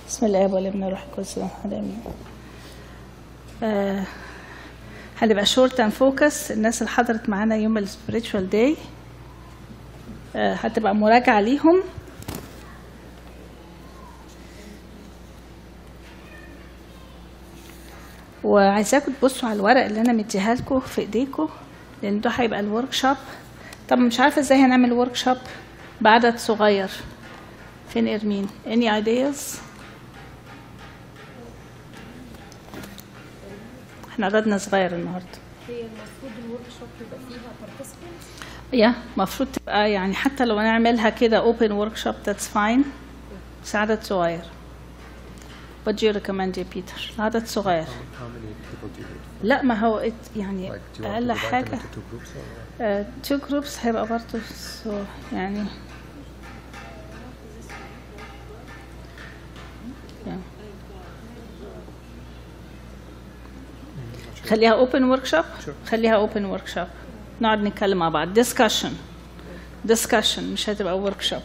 بسم الله والابن والروح القدس امين. هنبقى شورت اند فوكس. الناس اللي حضرت معانا يوم السبيريتشوال داي هتبقى مراجعه ليهم. وعايزاكم تبصوا على الورق اللي انا مديها لكم في ايديكم، لان ده هيبقى الورك شوب. طب مش عارفه ازاي هنعمل ورك شوب بعدد صغير. فين ارمين؟ any ideas؟ احنا عددنا صغير النهارده. هي المفروض الورك شوب يبقى فيها participants؟ المفروض تبقى يعني حتى لو نعملها كده open workshop that's fine. بس عدد صغير. What do you recommend يا بيتر؟ عدد صغير. How many people do you need? لا ما هو يعني Like, do you want أقل to divide them حاجة into two groups or? two groups هيبقى برضه يعني خليها open workshop. خليها open workshop. نقعد نتكلم مع بعض. discussion مش هتبقى workshop.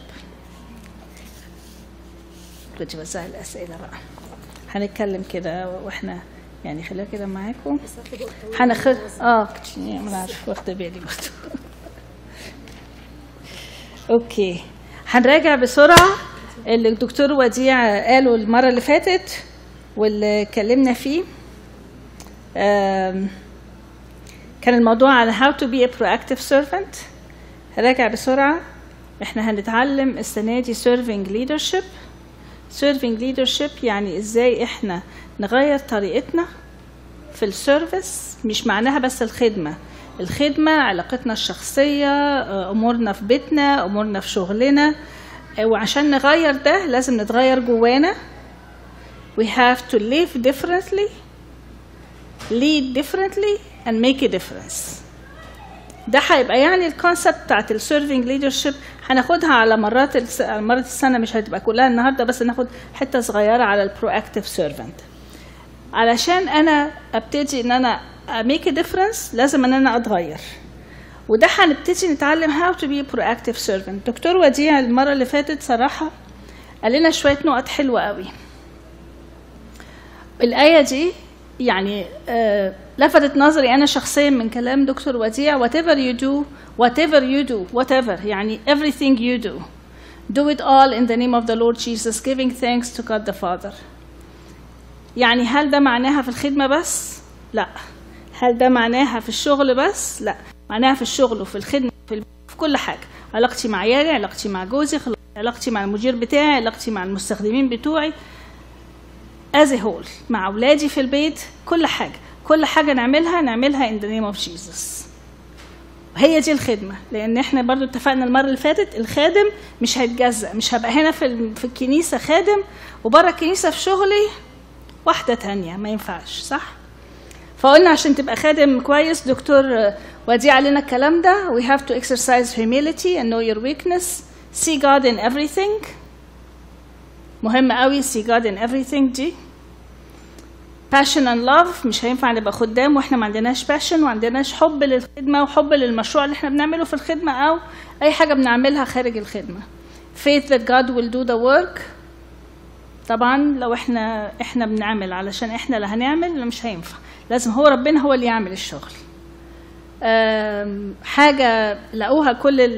كنت بوزع الأسئلة بقى. هنتكلم كده واحنا يعني خليها كده معاكم. هناخد ما عارف واخده بالي برضه. اوكي هنراجع بسرعه اللي الدكتور وديع قاله المره اللي فاتت واللي اتكلمنا فيه. كان الموضوع على how to be a proactive servant. هراجع بسرعه. احنا هنتعلم السنه دي serving leadership. serving leadership يعني ازاي احنا نغير طريقتنا في السيرفيس. مش معناها بس الخدمة علاقتنا الشخصية، امورنا في بيتنا، امورنا في شغلنا. وعشان نغير ده لازم نتغير جوانا. we have to live differently, lead differently and make a difference. ده هيبقى يعني الكونسبت بتاعت السيرفينج ليدرشيب. هناخدها على مرات السنه، مش هتبقى كلها النهارده، بس ناخد حته صغيره على البروactive سيرفنت. علشان انا ابتدي ان انا make a difference لازم ان انا اتغير. وده هنبتدي نتعلم how to be a proactive servant. دكتور وديع المره اللي فاتت صراحه قال لنا شويه نقط حلوه قوي. الايه دي يعني لفتت نظري أنا شخصيا من كلام دكتور وديع. whatever you do يعني everything you do it all in the name of the Lord Jesus giving thanks to God the Father. يعني هل ده معناها في الخدمة بس؟ لا. هل ده معناها في الشغل بس؟ لا. معناها في الشغل وفي الخدمة في كل حاجة. علاقتي مع عيالي، علاقتي مع جوزي، علاقتي مع المدير بتاعي، علاقتي مع المستخدمين بتوعي as a whole، مع أولادي في البيت. كل حاجة نعملها in the name of Jesus. وهي دي الخدمة. لأن احنا برضو اتفقنا المرة اللي فاتت الخادم مش هيتجزأ. مش هبقى هنا في الكنيسة خادم وبره الكنيسة في شغلي واحدة تانية، ما ينفعش، صح؟ فقلنا عشان تبقى خادم كويس دكتور وديع علينا الكلام ده. we have to exercise humility and know your weakness. see God in everything. مهم قوي see God in everything دي. passion and love. مش هينفع نبقى خدام واحنا ما عندناش passion وعندناش حب للخدمة وحب للمشروع اللي احنا بنعمله في الخدمة أو أي حاجة بنعملها خارج الخدمة. faith that God will do the work. طبعا لو احنا بنعمل علشان احنا اللي هنعمل مش هينفع. لازم هو ربنا هو اللي يعمل الشغل. حاجة لقوها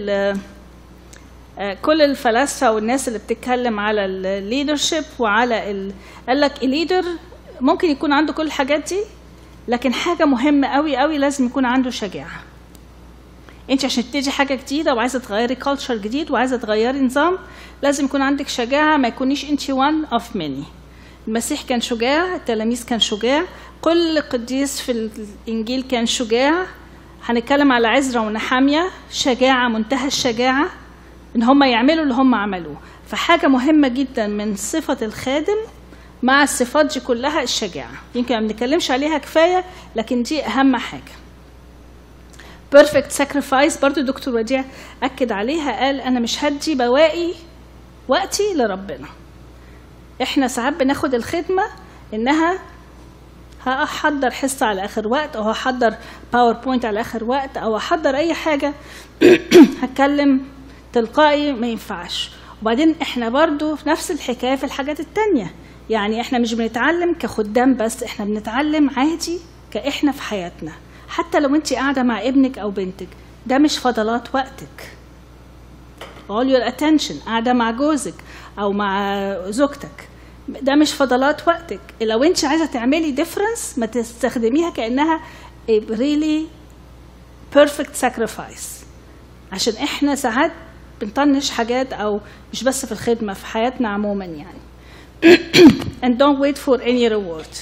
كل الفلاسفة والناس اللي بتتكلم على الليدرشيب وعلى قال لك الليدر ممكن يكون عنده كل الحاجات دي، لكن حاجة مهمة قوي قوي لازم يكون عنده شجاعة. انت عشان تيجي حاجة جديدة وعايزة تغيري كالتشر جديد وعايزة تغيري نظام لازم يكون عندك شجاعة. ما يكونيش انت one of many. المسيح كان شجاع، التلاميذ كان شجاع، كل قديس في الإنجيل كان شجاع. هنتكلم على عزرا ونحامية، شجاعة منتهى الشجاعة ان هم يعملوا اللي هم عملوه. فحاجة مهمة جدا من صفة الخادم مع الصفات دي كلها الشجاعة. يمكن ما بنتكلمش عليها كفاية لكن دي أهم حاجة. perfect sacrifice برضو دكتور وديع أكد عليها. قال أنا مش هدي بواقي وقتي لربنا. إحنا ساعات بناخد الخدمة إنها هحضر حصة على آخر وقت أو هحضر باوربوينت على آخر وقت أو هحضر أي حاجة هتكلم تلقائي. ما ينفعش. وبعدين احنا برضو في نفس الحكايه في الحاجات التانية. يعني احنا مش بنتعلم كخدام بس، احنا بنتعلم عادي كاحنا في حياتنا. حتى لو انت قاعده مع ابنك او بنتك، ده مش فضلات وقتك. all your attention. قاعده مع جوزك او مع زوجتك، ده مش فضلات وقتك. لو انت عايزه تعملي difference ما تستخدميها كانها a really perfect sacrifice، عشان احنا ساعات بنطنش حاجات، او مش بس في الخدمه، في حياتنا عموما يعني. and don't wait for any reward.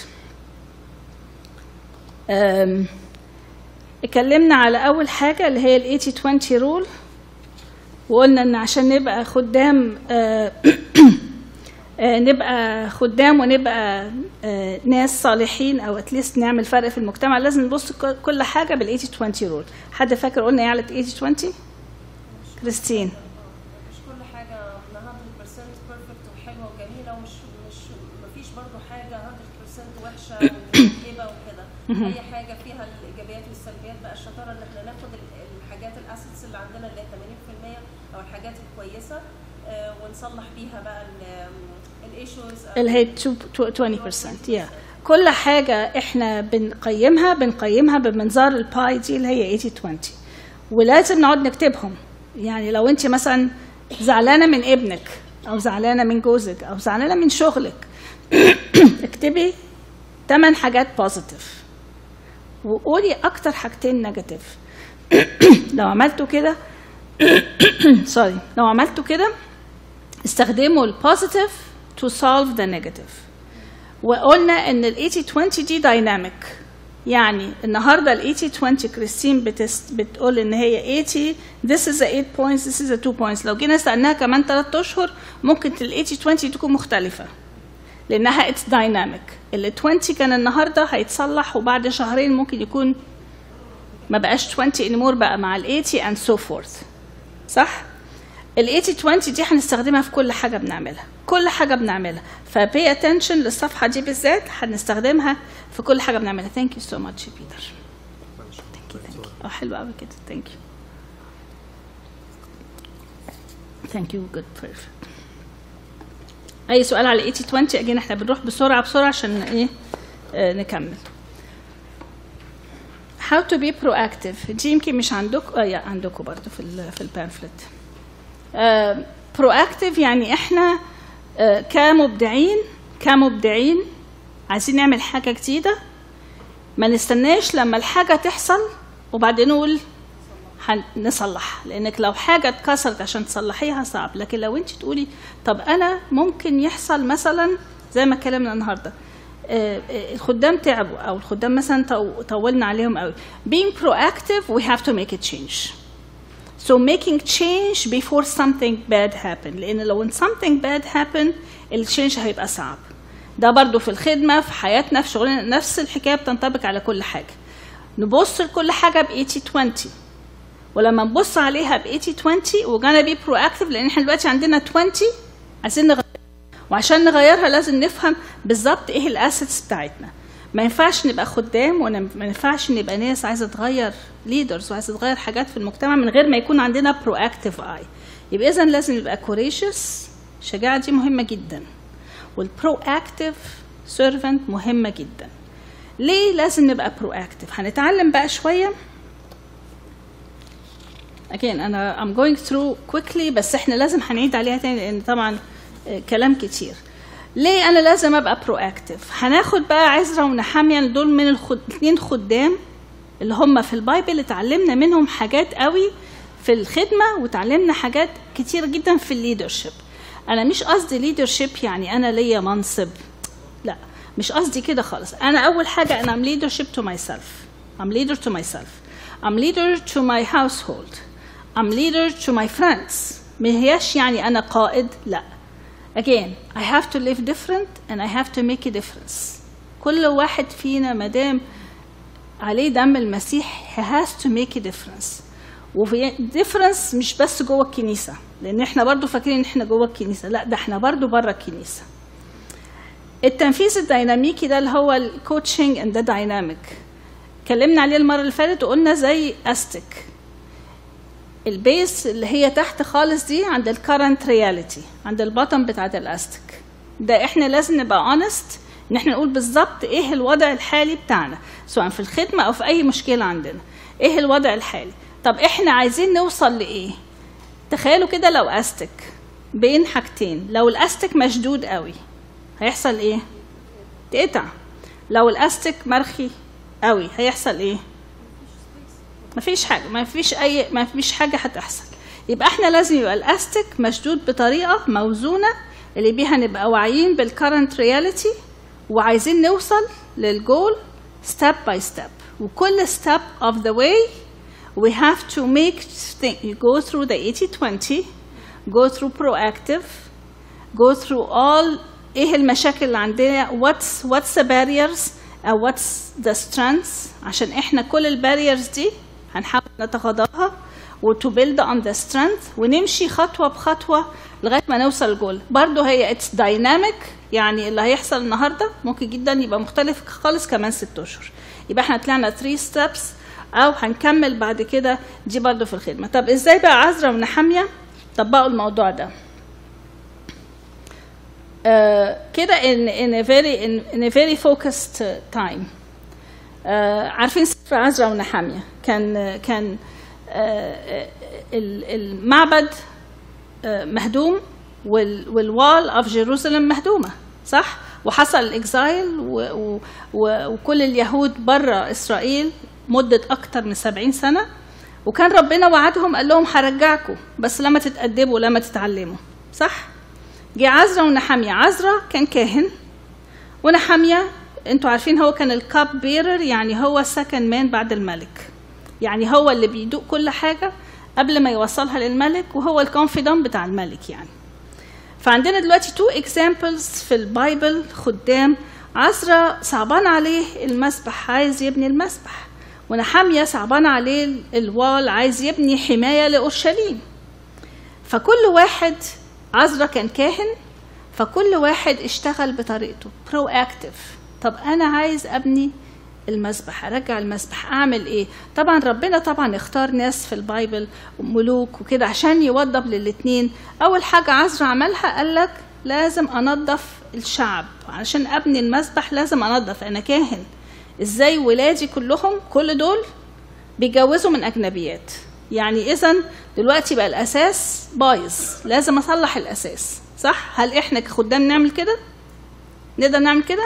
اتكلمنا على اول حاجه اللي هي ال 80-20 rule، وقلنا ان عشان نبقى خدام نبقى خدام ونبقى ناس صالحين او اتليست نعمل فرق في المجتمع، لازم نبص كل حاجه بال 80-20 rule. حد فاكر قلنا ايه على 80-20؟ كريستين. مش كل حاجه 100% بيرفكت وحلوه وجميله، ومش مفيش برضه حاجه 100% وحشه ومتعبه وكده. اي حاجه فيها الايجابيات والسلبيات. بقى الشطاره ان احنا ناخد الحاجات الاسيتس اللي عندنا اللي هي 80% او الحاجات الكويسه ونصلح بيها بقى الايشوز اللي هي 20%. كل حاجه احنا بنقيمها بمنظار الباي دي اللي هي 80-20، ولازم نقعد نكتبهم. يعني لو انت مثلا زعلانه من ابنك او زعلانه من جوزك او زعلانه من شغلك، اكتبي 8 حاجات بوزيتيف وقولي اكتر حاجتين نيجاتيف. لو عملتوا كده لو عملتوا كده استخدموا البوزيتيف to solve the negative. وقلنا ان ال 80-20 دي دايناميك. يعني النهارده ال 80-20 كريستين بتقول ان هي 80 this is a 8 points this is a 2 points. لو جينا سألناها كمان 3 اشهر ممكن ال 80-20 تكون مختلفه لانها it's dynamic. ال 20 كان النهارده هيتصلح وبعد شهرين ممكن يكون ما بقاش 20 anymore، بقى مع ال 80 and so forth. صح؟ ال 80-20 دي هنستخدمها في كل حاجه بنعملها، كل حاجه بنعملها. فpay attention للصفحه دي بالذات، هنستخدمها في كل حاجه بنعملها. thank you so much Peter. thank you. حلو قوي كده. thank you good perfect. اي سؤال على 80-20؟ اجينا احنا بنروح بسرعه عشان ايه نكمل. how to be proactive دي يمكن مش عندكم، عندكم برضه في البامفلت. proactive يعني احنا كمبدعين عايزين نعمل حاجه جديده، ما نستناش لما الحاجه تحصل وبعدين نقول هنصلح، لانك لو حاجه اتكسرت عشان تصلحيها صعب. لكن لو انت تقولي طب انا ممكن يحصل مثلا زي ما اتكلمنا النهارده، الخدام تعبوا او الخدام مثلا طولنا عليهم قوي. being proactive we have to make a change. So making change before something bad happen، لأن لو something bad happen التشينج هيبقى صعب. ده برضو في الخدمة، في حياتنا، في شغلنا، نفس الحكاية بتنطبق على كل حاجة. نبص لكل حاجة ب 80-20، ولما نبص عليها ب 80-20 وجانا be proactive، لأن احنا دلوقتي عندنا 20 عايزين نغيرها، وعشان نغيرها لازم نفهم بالظبط ايه الاسيتس بتاعتنا. ما ينفعش نبقى خدام وما ينفعش نبقى ناس عايزه تغير ليدرز وعايزه تغير حاجات في المجتمع من غير ما يكون عندنا proactive eye. يبقى اذا لازم نبقى courageous، الشجاعه دي مهمه جدا، والproactive servant مهمه جدا. ليه لازم نبقى proactive؟ هنتعلم بقى شويه. again انا I'm going through quickly، بس احنا لازم هنعيد عليها تاني لان طبعا كلام كتير. ليه انا لازم ابقى proactive؟ هناخد بقى عزرا ونحامية، دول من الاثنين خدام اللي هم في البايبل اتعلمنا منهم حاجات قوي في الخدمه، وتعلمنا حاجات كتير جدا في الليدرشيب. انا مش قصدي ليدرشيب يعني انا ليا منصب، لا مش قصدي كده خالص. انا اول حاجه انا I'm leadership to myself. I'm leader to myself. I'm leader to my household. I'm leader to my friends. ما هياش يعني انا قائد، لا. Again, I have to live different and I have to make a difference. كل واحد فينا مادام عليه دم المسيح he has to make a difference. وفي difference مش بس جوه الكنيسة، لأن احنا برضو فاكرين ان احنا جوه الكنيسة، لا ده احنا برضو بره الكنيسة. التنفيذ الديناميكي ده اللي هو الكوتشنج and the dynamic اتكلمنا عليه المرة اللي فاتت وقلنا زي أستك. البيس اللي هي تحت خالص دي عند الكرنت رياليتي، عند البطن بتاعت الاستك ده. احنا لازم نبقى honest ان احنا نقول بالظبط ايه الوضع الحالي بتاعنا سواء في الخدمه او في اي مشكله عندنا، ايه الوضع الحالي. طب احنا عايزين نوصل لايه؟ تخيلوا كده لو استك بين حاجتين، لو الاستك مشدود قوي هيحصل ايه؟ تقطع. لو الاستك مرخي قوي هيحصل ايه؟ مفيش حاجه، مفيش حاجه هتحصل. يبقى احنا لازم يبقى الاستك مشدود بطريقه موزونه اللي بيها نبقى واعيين بالكرنت رياليتي وعايزين نوصل للجول step by step. وكل step of the way we have to make you go through the 80-20, go through proactive, go through all ايه المشاكل اللي عندنا، what's the barriers أو what's the strengths، عشان احنا كل الباريرز دي هنحاول نتغاضاها و to build on the strength ونمشي خطوة بخطوة لغاية ما نوصل الجول. برضو هي it's dynamic، يعني اللي هيحصل النهاردة ممكن جدا يبقى مختلف خالص كمان 6 أشهر. يبقى احنا طلعنا 3 steps أو هنكمل بعد كده دي برضو في الخدمة. طب ازاي بقى عزرا ونحمية طبقوا الموضوع ده؟ كده in a very focused time. عارفين سفر عزرا ونحمية كان المعبد مهدوم والوال اوف جيروسلم مهدومه، صح؟ وحصل الاكزايل وكل اليهود بره اسرائيل مده اكتر من 70 سنه، وكان ربنا وعدهم قال لهم هرجعكم بس لما تتأدبوا لما تتعلموا، صح؟ جه عزرا ونحمية. عزرا كان كاهن ونحمية انتوا عارفين هو كان الكاب بيرر، يعني هو سكند مان بعد الملك، يعني هو اللي بيدوق كل حاجه قبل ما يوصلها للملك وهو الكونفيدنت بتاع الملك يعني. فعندنا دلوقتي 2 examples في البايبل خدام. عزرا صعبان عليه المسبح عايز يبني المسبح، ونحمية صعبان عليه الوال عايز يبني حماية لأورشليم. فكل واحد، عزرا كان كاهن فكل واحد اشتغل بطريقته proactive. طب أنا عايز أبني المسبح، أرجع المسبح، أعمل إيه؟ طبعا ربنا طبعا اختار ناس في البايبل ملوك وكده عشان يوضب للاتنين. أول حاجة عزرا عملها قالك لازم أنظف الشعب، عشان أبني المسبح لازم أنظف، أنا كاهن. إزاي ولادي كلهم كل دول بيجوزوا من أجنبيات، يعني إذن دلوقتي بقى الأساس بايظ، لازم أصلح الأساس، صح؟ هل إحنا كخدام نعمل كده؟ نقدر نعمل كده؟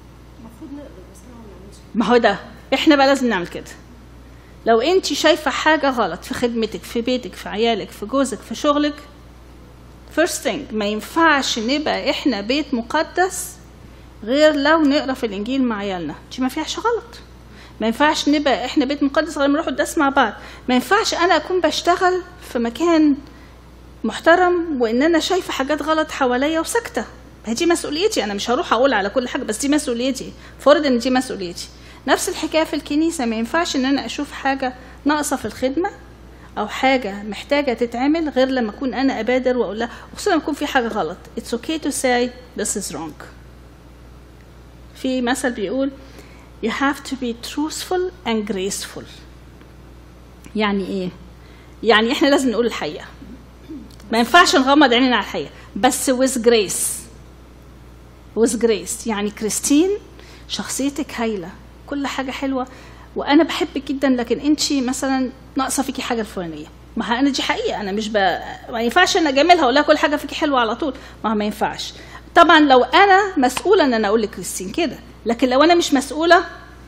ما هو ده احنا بقى لازم نعمل كده. لو انت شايفه حاجه غلط في خدمتك في بيتك في عيالك في جوزك في شغلك، first thing ما ينفعش نبقى احنا بيت مقدس غير لو نقرا في الانجيل مع عيالنا، دي ما فيهاش غلط. ما ينفعش نبقى احنا بيت مقدس غير ما نروح القداس مع بعض. ما ينفعش انا اكون بشتغل في مكان محترم وان انا شايفه حاجات غلط حواليا وساكته، دي مسؤوليتي. انا مش هروح اقول على كل حاجه بس دي مسؤوليتي، فرض ان دي مسؤوليتي. نفس الحكايه في الكنيسه، ما ينفعش ان انا اشوف حاجه ناقصه في الخدمه او حاجه محتاجه تتعمل غير لما اكون انا ابادر واقول لها، وخصوصا لما يكون في حاجه غلط. It's okay to say this is wrong. في مثل بيقول you have to be truthful and graceful. يعني ايه؟ يعني احنا لازم نقول الحقيقه، ما ينفعش نغمض عينينا على الحقيقه، بس with grace. with grace يعني كريستين شخصيتك هايله، كل حاجه حلوه وانا بحبك جدا، لكن انت مثلا ناقصه فيكي حاجه الفلانيه. ما انا دي حقيقه، انا مش ما ينفعش ان اجاملها اقول لها كل حاجه فيكي حلوه على طول، ما ينفعش. طبعا لو انا مسؤوله ان انا اقول لكريستين كده، لكن لو انا مش مسؤوله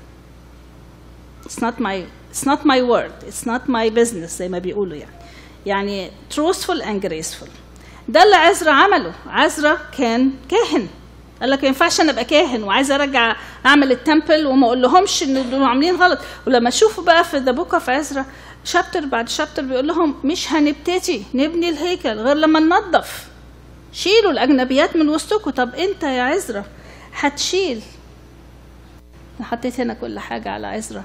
it's not my word, it's not my business زي ما بيقولوا يعني truthful and graceful. ده اللي عزرا عمله. عزرا كان كاهن، قال لك ما ينفعش انا ابقى كاهن وعايزه ارجع اعمل التمبل وما اقول لهمش ان دول عاملين غلط. ولما تشوفوا بقى في ذا بوك اوف عزرا شابتر بعد شابتر بيقول لهم مش هنبتدي نبني الهيكل غير لما ننظف، شيلوا الاجنبيات من وسطكم. طب انت يا عزرا هتشيل، حطيت هنا كل حاجه على عزرا،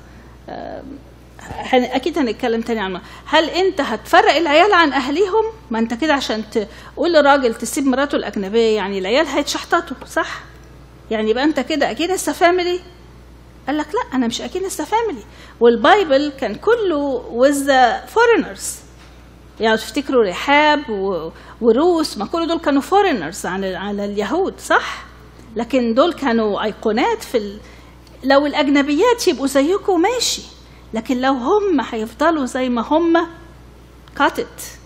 اكيد هنتكلم تاني عنها. هل انت هتفرق العيال عن اهليهم؟ ما انت كده عشان تقول لراجل تسيب مراته الاجنبيه يعني العيال هيتشحططوا، صح؟ يعني يبقى انت كده اكينست فاميلي. قال لك لا انا مش اكينست فاميلي. والبايبل كان كله with the foreigners، يعني تفتكروا رحاب وروس، ما كل دول كانوا فورينرز على اليهود صح؟ لكن دول كانوا أيقونات لو الأجنبيات يبقوا زيكم ماشي، لكن لو هم هيفضلوا زي ما هم كاتت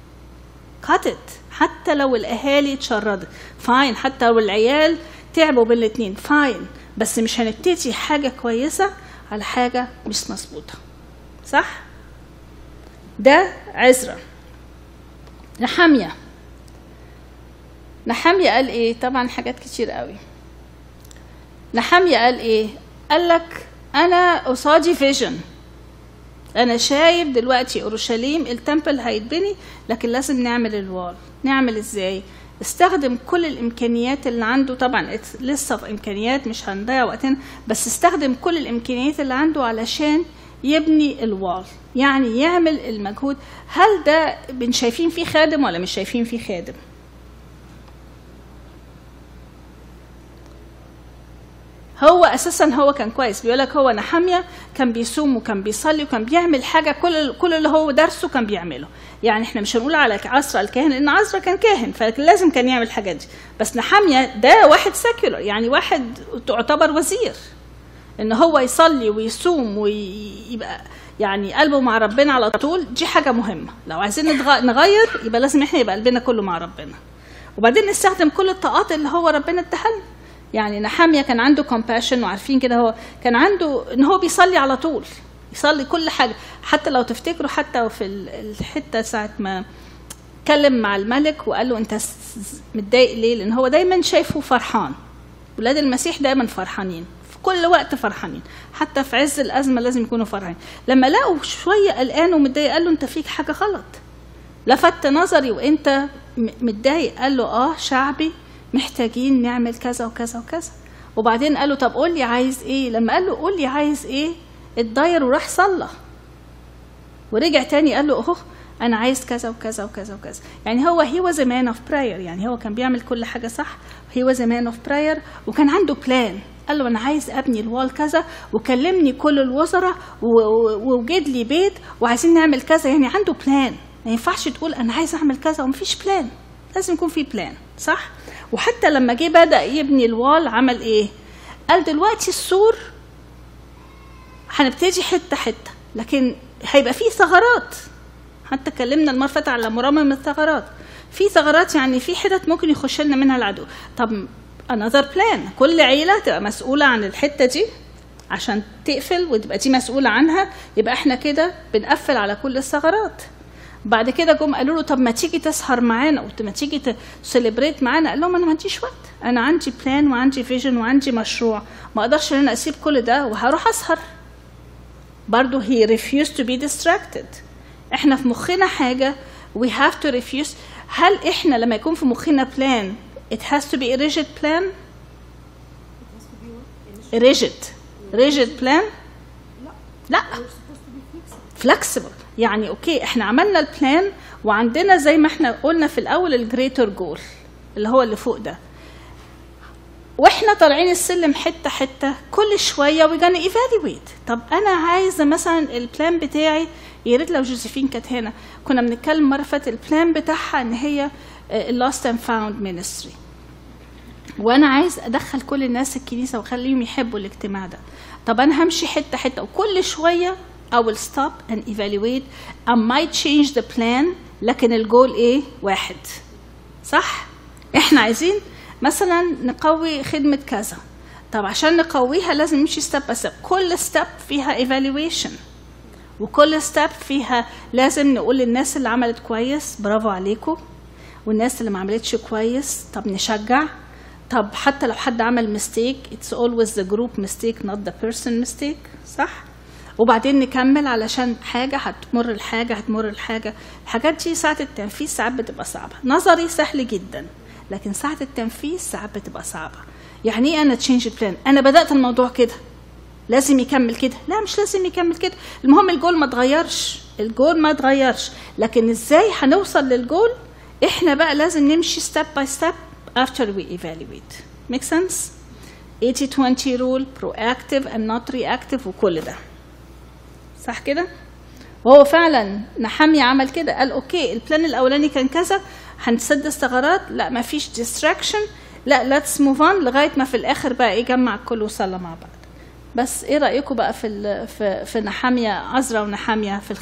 حتى لو الأهالي اتشردت فاين، حتى لو العيال تعبوا بالاتنين فاين، بس مش هنبتدي حاجة كويسة على حاجة مش مظبوطة صح؟ ده عزرا. نحمية قال ايه؟ طبعا حاجات كتير قوي. نحمية قال ايه؟ قال لك انا قصادي فيجن، انا شايف دلوقتي اورشليم التمبل هيتبني، لكن لازم نعمل الوال. نعمل ازاي؟ استخدم كل الامكانيات اللي عنده، طبعا لسه في امكانيات مش هنضيع وقتنا، بس استخدم كل الامكانيات اللي عنده علشان يبني الوال، يعني يعمل المجهود. هل ده شايفين فيه خادم ولا مش شايفين فيه خادم؟ هو اساسا هو كان كويس، بيقول لك هو نحمية كان بيصوم وكان بيصلي وكان بيعمل حاجه كل اللي هو درسه كان بيعمله. يعني احنا مش هنقول على عزرا الكاهن لان عزرا كان كاهن فلازم كان يعمل الحاجات دي، بس نحمية ده واحد سيكولر، يعني واحد تعتبر وزير، ان هو يصلي ويصوم ويبقى يعني قلبه مع ربنا على طول، دي حاجه مهمه. لو عايزين نغير يبقى لازم احنا يبقى قلبنا كله مع ربنا، وبعدين نستخدم كل الطاقات اللي هو ربنا اداها لنا. يعني نحمية كان عنده compassion، وعارفين كده هو كان عنده ان هو بيصلي على طول، يصلي كل حاجه. حتى لو تفتكروا حتى في الحته ساعه ما اتكلم مع الملك وقال له انت متضايق ليه؟ لان هو دايما شايفه فرحان. ولاد المسيح دايما فرحانين، في كل وقت فرحانين، حتى في عز الازمه لازم يكونوا فرحانين. لما لقوا شويه قلقان ومتضايق قال له انت فيك حاجه غلط، لفت نظري وانت متضايق. قال له شعبي محتاجين نعمل كذا وكذا وكذا. وبعدين قال له طب قول لي عايز ايه؟ لما قال له قول لي عايز ايه اتضاير وراح صلى، ورجع تاني قال له اهو انا عايز كذا وكذا وكذا وكذا. يعني هو he was a man of prayer، يعني هو كان بيعمل كل حاجه صح. he was a man of prayer وكان عنده بلان. قال له انا عايز ابني الوال كذا، وكلمني كل الوزراء ووجد لي بيت وعايزين نعمل كذا. يعني عنده بلان. ما ينفعش تقول انا عايز اعمل كذا ومفيش بلان، لازم يكون في بلان صح. وحتى لما جه بدأ يبني الوال عمل ايه؟ قال دلوقتي السور هنبتدي حته حته، لكن هيبقى فيه ثغرات. حتى كلمنا المره اللي فاتت على مرمم الثغرات. في ثغرات يعني في حتت ممكن يخش لنا منها العدو. طب another plan، كل عيله تبقى مسؤوله عن الحته دي عشان تقفل وتبقى دي مسؤوله عنها، يبقى احنا كده بنقفل على كل الثغرات. بعد كده جم قالوا له طب ما تيجي تسهر معانا وما تيجي تسليبريت معانا. قال لهم انا ما عنديش وقت، انا عندي بلان وعندي فيجن وعندي مشروع، ما اقدرش ان انا اسيب كل ده وهروح اسهر. برضه he refused to be distracted. احنا في مخنا حاجه we have to refuse. هل احنا لما يكون في مخنا plan it has to be a rigid plan؟ rigid plan؟ لا flexible. يعني اوكي احنا عملنا البلان وعندنا زي ما احنا قلنا في الاول الجريتر جول اللي هو اللي فوق ده، واحنا طالعين السلم حته حته كل شويه we gonna evaluate. طب انا عايزه مثلا البلان بتاعي، يا ريت لو جوزيفين كانت هنا، كنا بنتكلم مره فاتت البلان بتاعها ان هي lost and found ministry، وانا عايز ادخل كل الناس الكنيسه واخليهم يحبوا الاجتماع ده. طب انا همشي حته حته وكل شويه I will stop and evaluate. I might change the plan، لكن الجول ايه؟ واحد صح. احنا عايزين مثلا نقوي خدمة كذا، طب عشان نقويها لازم نمشي ستيب باي ستيب. كل ستيب فيها evaluation، وكل ستيب فيها لازم نقول للناس اللي عملت كويس برافو عليكم، والناس اللي ما عملتش كويس طب نشجع. طب حتى لو حد عمل mistake it's always the group mistake not the person mistake صح. وبعدين نكمل علشان حاجة هتمر الحاجة. الحاجات دي ساعة التنفيذ ساعات بتبقى صعبة. نظري سهل جدا، لكن ساعة التنفيذ ساعات بتبقى صعبة. يعني ايه انا تشينج بلان؟ انا بدأت الموضوع كده لازم يكمل كده؟ لا مش لازم يكمل كده. المهم الجول ما اتغيرش، لكن ازاي هنوصل للجول احنا بقى لازم نمشي step by step after we evaluate. make sense؟ 80-20 rule، proactive and not reactive، وكل ده صح كده؟ وهو فعلا نحمية عمل كده، قال اوكي البلان الاولاني كان كذا، هنسد ثغرات، لا ما فيش ديستراكشن، لا ليتس موف اون، لغايه ما في الاخر بقى يجمع الكل وصلى مع بعض. بس ايه رايكم بقى في نحمية، عزرا ونحمية في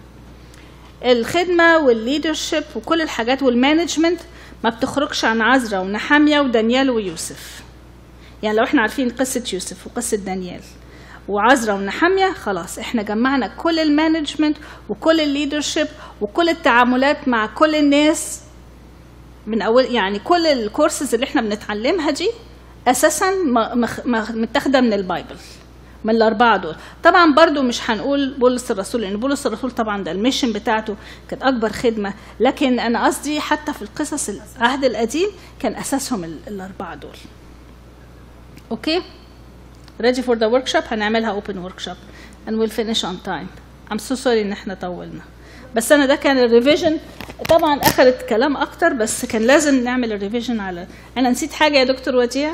الخدمه والليدرشيب وكل الحاجات والمانجمنت ما بتخرجش عن عزرا ونحمية ودانيال ويوسف. يعني لو احنا عارفين قصه يوسف وقصه دانيال وعزرا ونحمية، خلاص احنا جمعنا كل المانجمنت وكل الليدرشيب وكل التعاملات مع كل الناس من اول. يعني كل الكورسز اللي احنا بنتعلمها دي اساسا متاخده من البايبل، من الاربعه دول. طبعا برضو مش هنقول بولس الرسول، لان بولس الرسول طبعا ده الميشن بتاعته كانت اكبر خدمه، لكن انا قصدي حتى في القصص العهد القديم كان اساسهم الاربعه دول. اوكي ready for the workshop. هنعملها open workshop and we'll finish on time. I'm so sorry ان احنا طولنا، بس انا ده كان الريفيجن. طبعا اخذت كلام اكتر، بس كان لازم نعمل الريفيجن على. انا نسيت حاجه يا دكتور وديع؟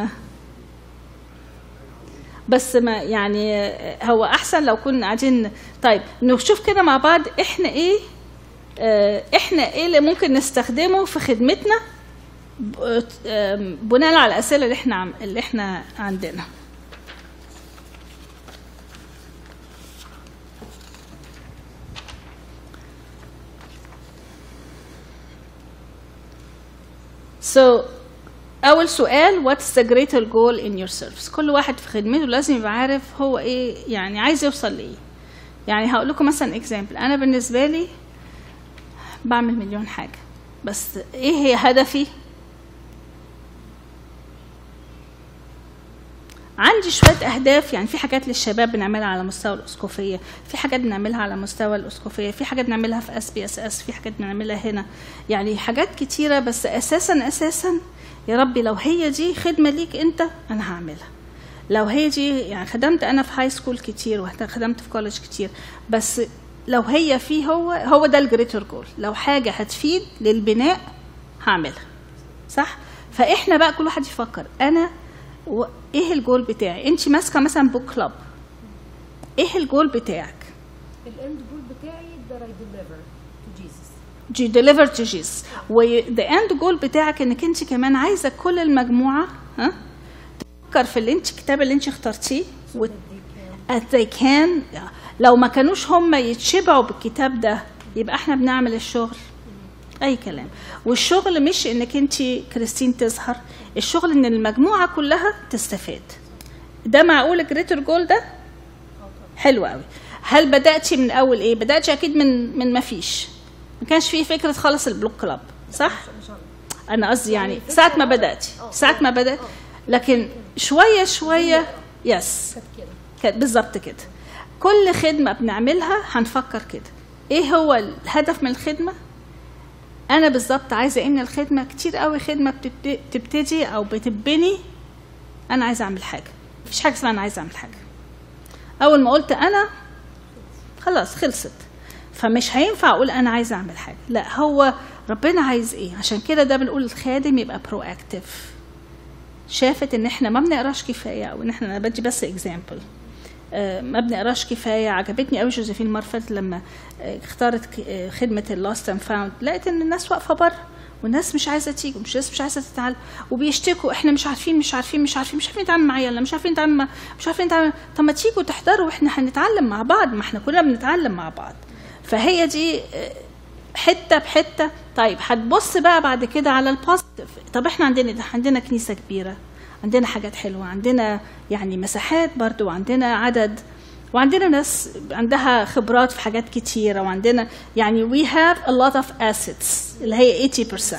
بس ما يعني هو احسن لو كنا قاعدين. طيب نشوف كده مع بعض احنا ايه اللي ممكن نستخدمه في خدمتنا بناء على الاسئله اللي احنا عندنا. So أول سؤال what's the greater goal in your service؟ كل واحد في خدمته لازم يبقى عارف هو إيه يعني عايز يوصل لإيه. يعني هقول لكم مثلا example. أنا بالنسبة لي بعمل مليون حاجة، بس إيه هي هدفي؟ عندي شوية أهداف. يعني في حاجات للشباب بنعملها على مستوى الأسقفية، في حاجات بنعملها على مستوى الأسقفية، في حاجات بنعملها في SBSS، في حاجات بنعملها هنا. يعني حاجات كتيرة، بس أساسا يا ربي لو هي دي خدمة ليك أنت أنا هعملها. لو هي دي يعني خدمت أنا في هاي سكول كتير وخدمت في كولج كتير، بس لو هي فيه هو ده الجريتر جول. لو حاجة هتفيد للبناء هعملها، صح؟ فإحنا بقى كل واحد يفكر أنا ايه الجول بتاعي. انت ماسكه مثلا بوك كلاب، ايه الجول بتاعك؟ الاند جول بتاعي that I deliver to Jesus. You deliver to Jesus. the end goal بتاعك انك انت كمان عايزه كل المجموعه تفكر في الكتاب اللي انت اخترتيه as they can. لو ما كانوش هم يتشبعوا بالكتاب ده يبقى احنا بنعمل الشغل اي كلام. والشغل مش انك انت كريستين تظهر، الشغل ان المجموعه كلها تستفاد. ده معقول الجريتر جول ده؟ حلو قوي. هل بداتي من اول ايه؟ بداتي اكيد من ما فيش، ما كانش فيه فكره خالص البلوك كلاب، صح؟ انا قصدي يعني ساعه ما بدات لكن شويه يس بالظبط كده. كل خدمه بنعملها هنفكر كده، ايه هو الهدف من الخدمه؟ أنا بالظبط عايزة إن الخدمة كتير قوي خدمة بتبتدي أو بتبني أنا عايزة أعمل حاجة. مفيش حاجة اسمها أنا عايزة أعمل حاجة. أول ما قلت أنا خلاص خلصت، فمش هينفع أقول أنا عايزة أعمل حاجة. لا، هو ربنا عايز إيه. عشان كده ده بنقول الخادم يبقى برو أكتيف. شافت إن إحنا ما بنقراش كفاية، أو إن إحنا أنا بدي بس إكزامبل ما بنقراش كفايه. عجبتني قوي جوزيفين مارفت لما اختارت خدمه اللاست اند فاوند، لقيت ان الناس واقفه بره والناس مش عايزه تيجي، مش عايزه تتعلم، وبيشتكوا احنا مش عارفين نتعامل مع عيالنا، مش عارفين نتعامل. طب ما تيجوا تحضروا واحنا هنتعلم مع بعض، ما احنا كلنا بنتعلم مع بعض. فهي دي حته بحته. طيب هتبص بقى بعد كده على البوزيتيف. طب احنا عندنا كنيسه كبيره، عندنا حاجات حلوه، عندنا يعني مساحات برضو، وعندنا عدد، وعندنا ناس عندها خبرات في حاجات كتيره، وعندنا يعني we have a lot of assets اللي هي 80%.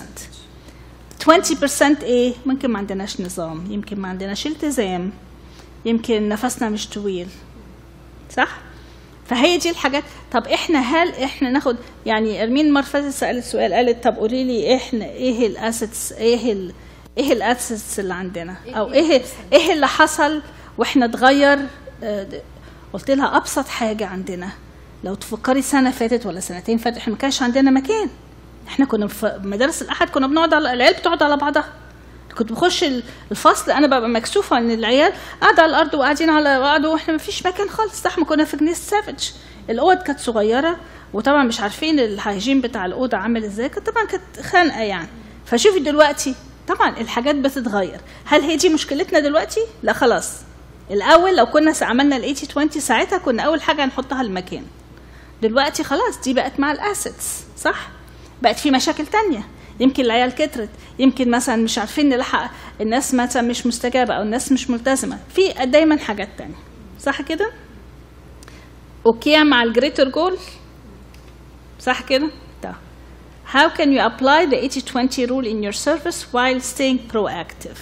20% ايه؟ ممكن ما عندناش نظام، يمكن ما عندناش التزام، يمكن نفسنا مش طويل، صح؟ فهي دي الحاجات. طب هل احنا ناخد يعني ارمين مرة سألت سؤال، قالت طب قولي لي احنا ايه الاسيتس، ايه الاسيتس اللي عندنا، او ايه اللي حصل واحنا اتغير. قلت لها ابسط حاجه عندنا، لو تفكري سنه فاتت ولا سنتين فاتت احنا ما كانش عندنا مكان. احنا كنا في مدارس الاحد كنا بنقعد على العيال بتقعد على بعضها. كنت بخش الفصل انا ببقى مكسوفه ان العيال قاعده على الارض وقاعدين على بعض واحنا ما فيش مكان خالص. صح، ما كنا في جنيس سافج الاوض كانت صغيره، وطبعا مش عارفين الهايجين بتاع الاوضه عامل ازاي، طبعا كانت خانقه يعني. فشوفي دلوقتي طبعا الحاجات بتتغير. هل هي دي مشكلتنا دلوقتي؟ لا خلاص. الاول لو كنا عملنا ال 80-20 ساعتها كنا اول حاجه هنحطها المكان. دلوقتي خلاص دي بقت مع الاسيتس، صح؟ بقت في مشاكل تانية، يمكن العيال كترت، يمكن مثلا مش عارفين نلحق الناس مثلا مش مستجابه او الناس مش ملتزمه، في دايما حاجات تانية، صح كده؟ اوكي مع الجريتر جول، صح كده؟ طيب how can you apply the 80-20 rule in your service while staying proactive؟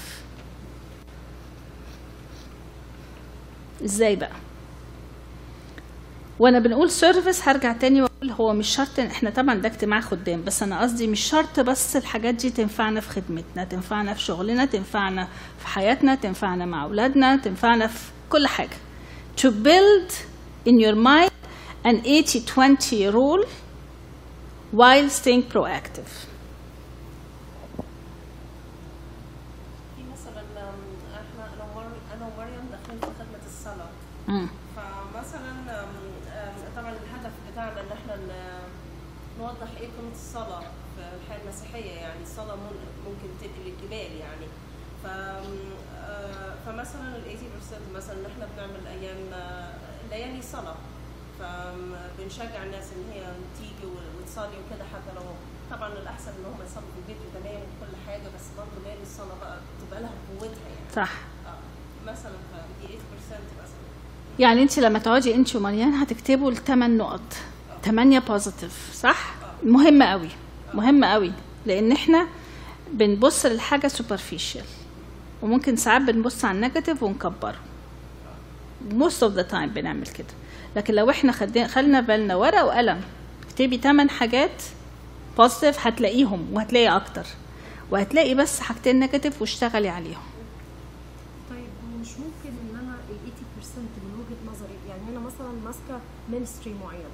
ازاي بقى؟ وانا بنقول سيرفيس هرجع تاني واقول هو مش شرط احنا طبعا ده اجتماع خدام، بس انا قصدي مش شرط بس الحاجات دي تنفعنا في خدمتنا، تنفعنا في شغلنا، تنفعنا في حياتنا، تنفعنا مع اولادنا، تنفعنا في كل حاجه. To build in your mind an 80-20 rule while staying proactive. في مثلا احنا انا ومريم داخلين في خدمه الصلاه. فمثلا طبعا الهدف بتاعنا ان احنا نوضح ايه قيمه الصلاه في الحياه المسيحيه، يعني الصلاه ممكن تنقل الجبال يعني. فمثلا ال 80% مثلا ان احنا بنعمل ايام ليالي صلاه، فبنشجع الناس ان هي تيجي وتصلي وكده، حتى لو طبعا الاحسن ان هم يصلوا في البيت وتنام وكل حاجه، بس برضه ليالي الصلاه بقى تبقى لها قوتها يعني. صح. مثلا فدي 80% مثلا. يعني انت لما تقعدي انت ومريان هتكتبوا ال8 نقط، 8 بوزيتيف، صح؟ مهمه قوي، مهمه قوي، لان احنا بنبص للحاجه سوبرفيشال، وممكن ساعات بنبص على النيجاتيف ونكبره. most of the time بنعمل كده. لكن لو احنا خلنا بالنا ورقه وقلم، اكتبي 8 حاجات بوزيتيف هتلاقيهم، وهتلاقي اكتر، وهتلاقي بس حاجتين نيجاتيف واشتغلي عليهم. طيب مش ممكن ان انا ال 80% من وجهه نظري، يعني انا مثلا ماسكه مينستري معين،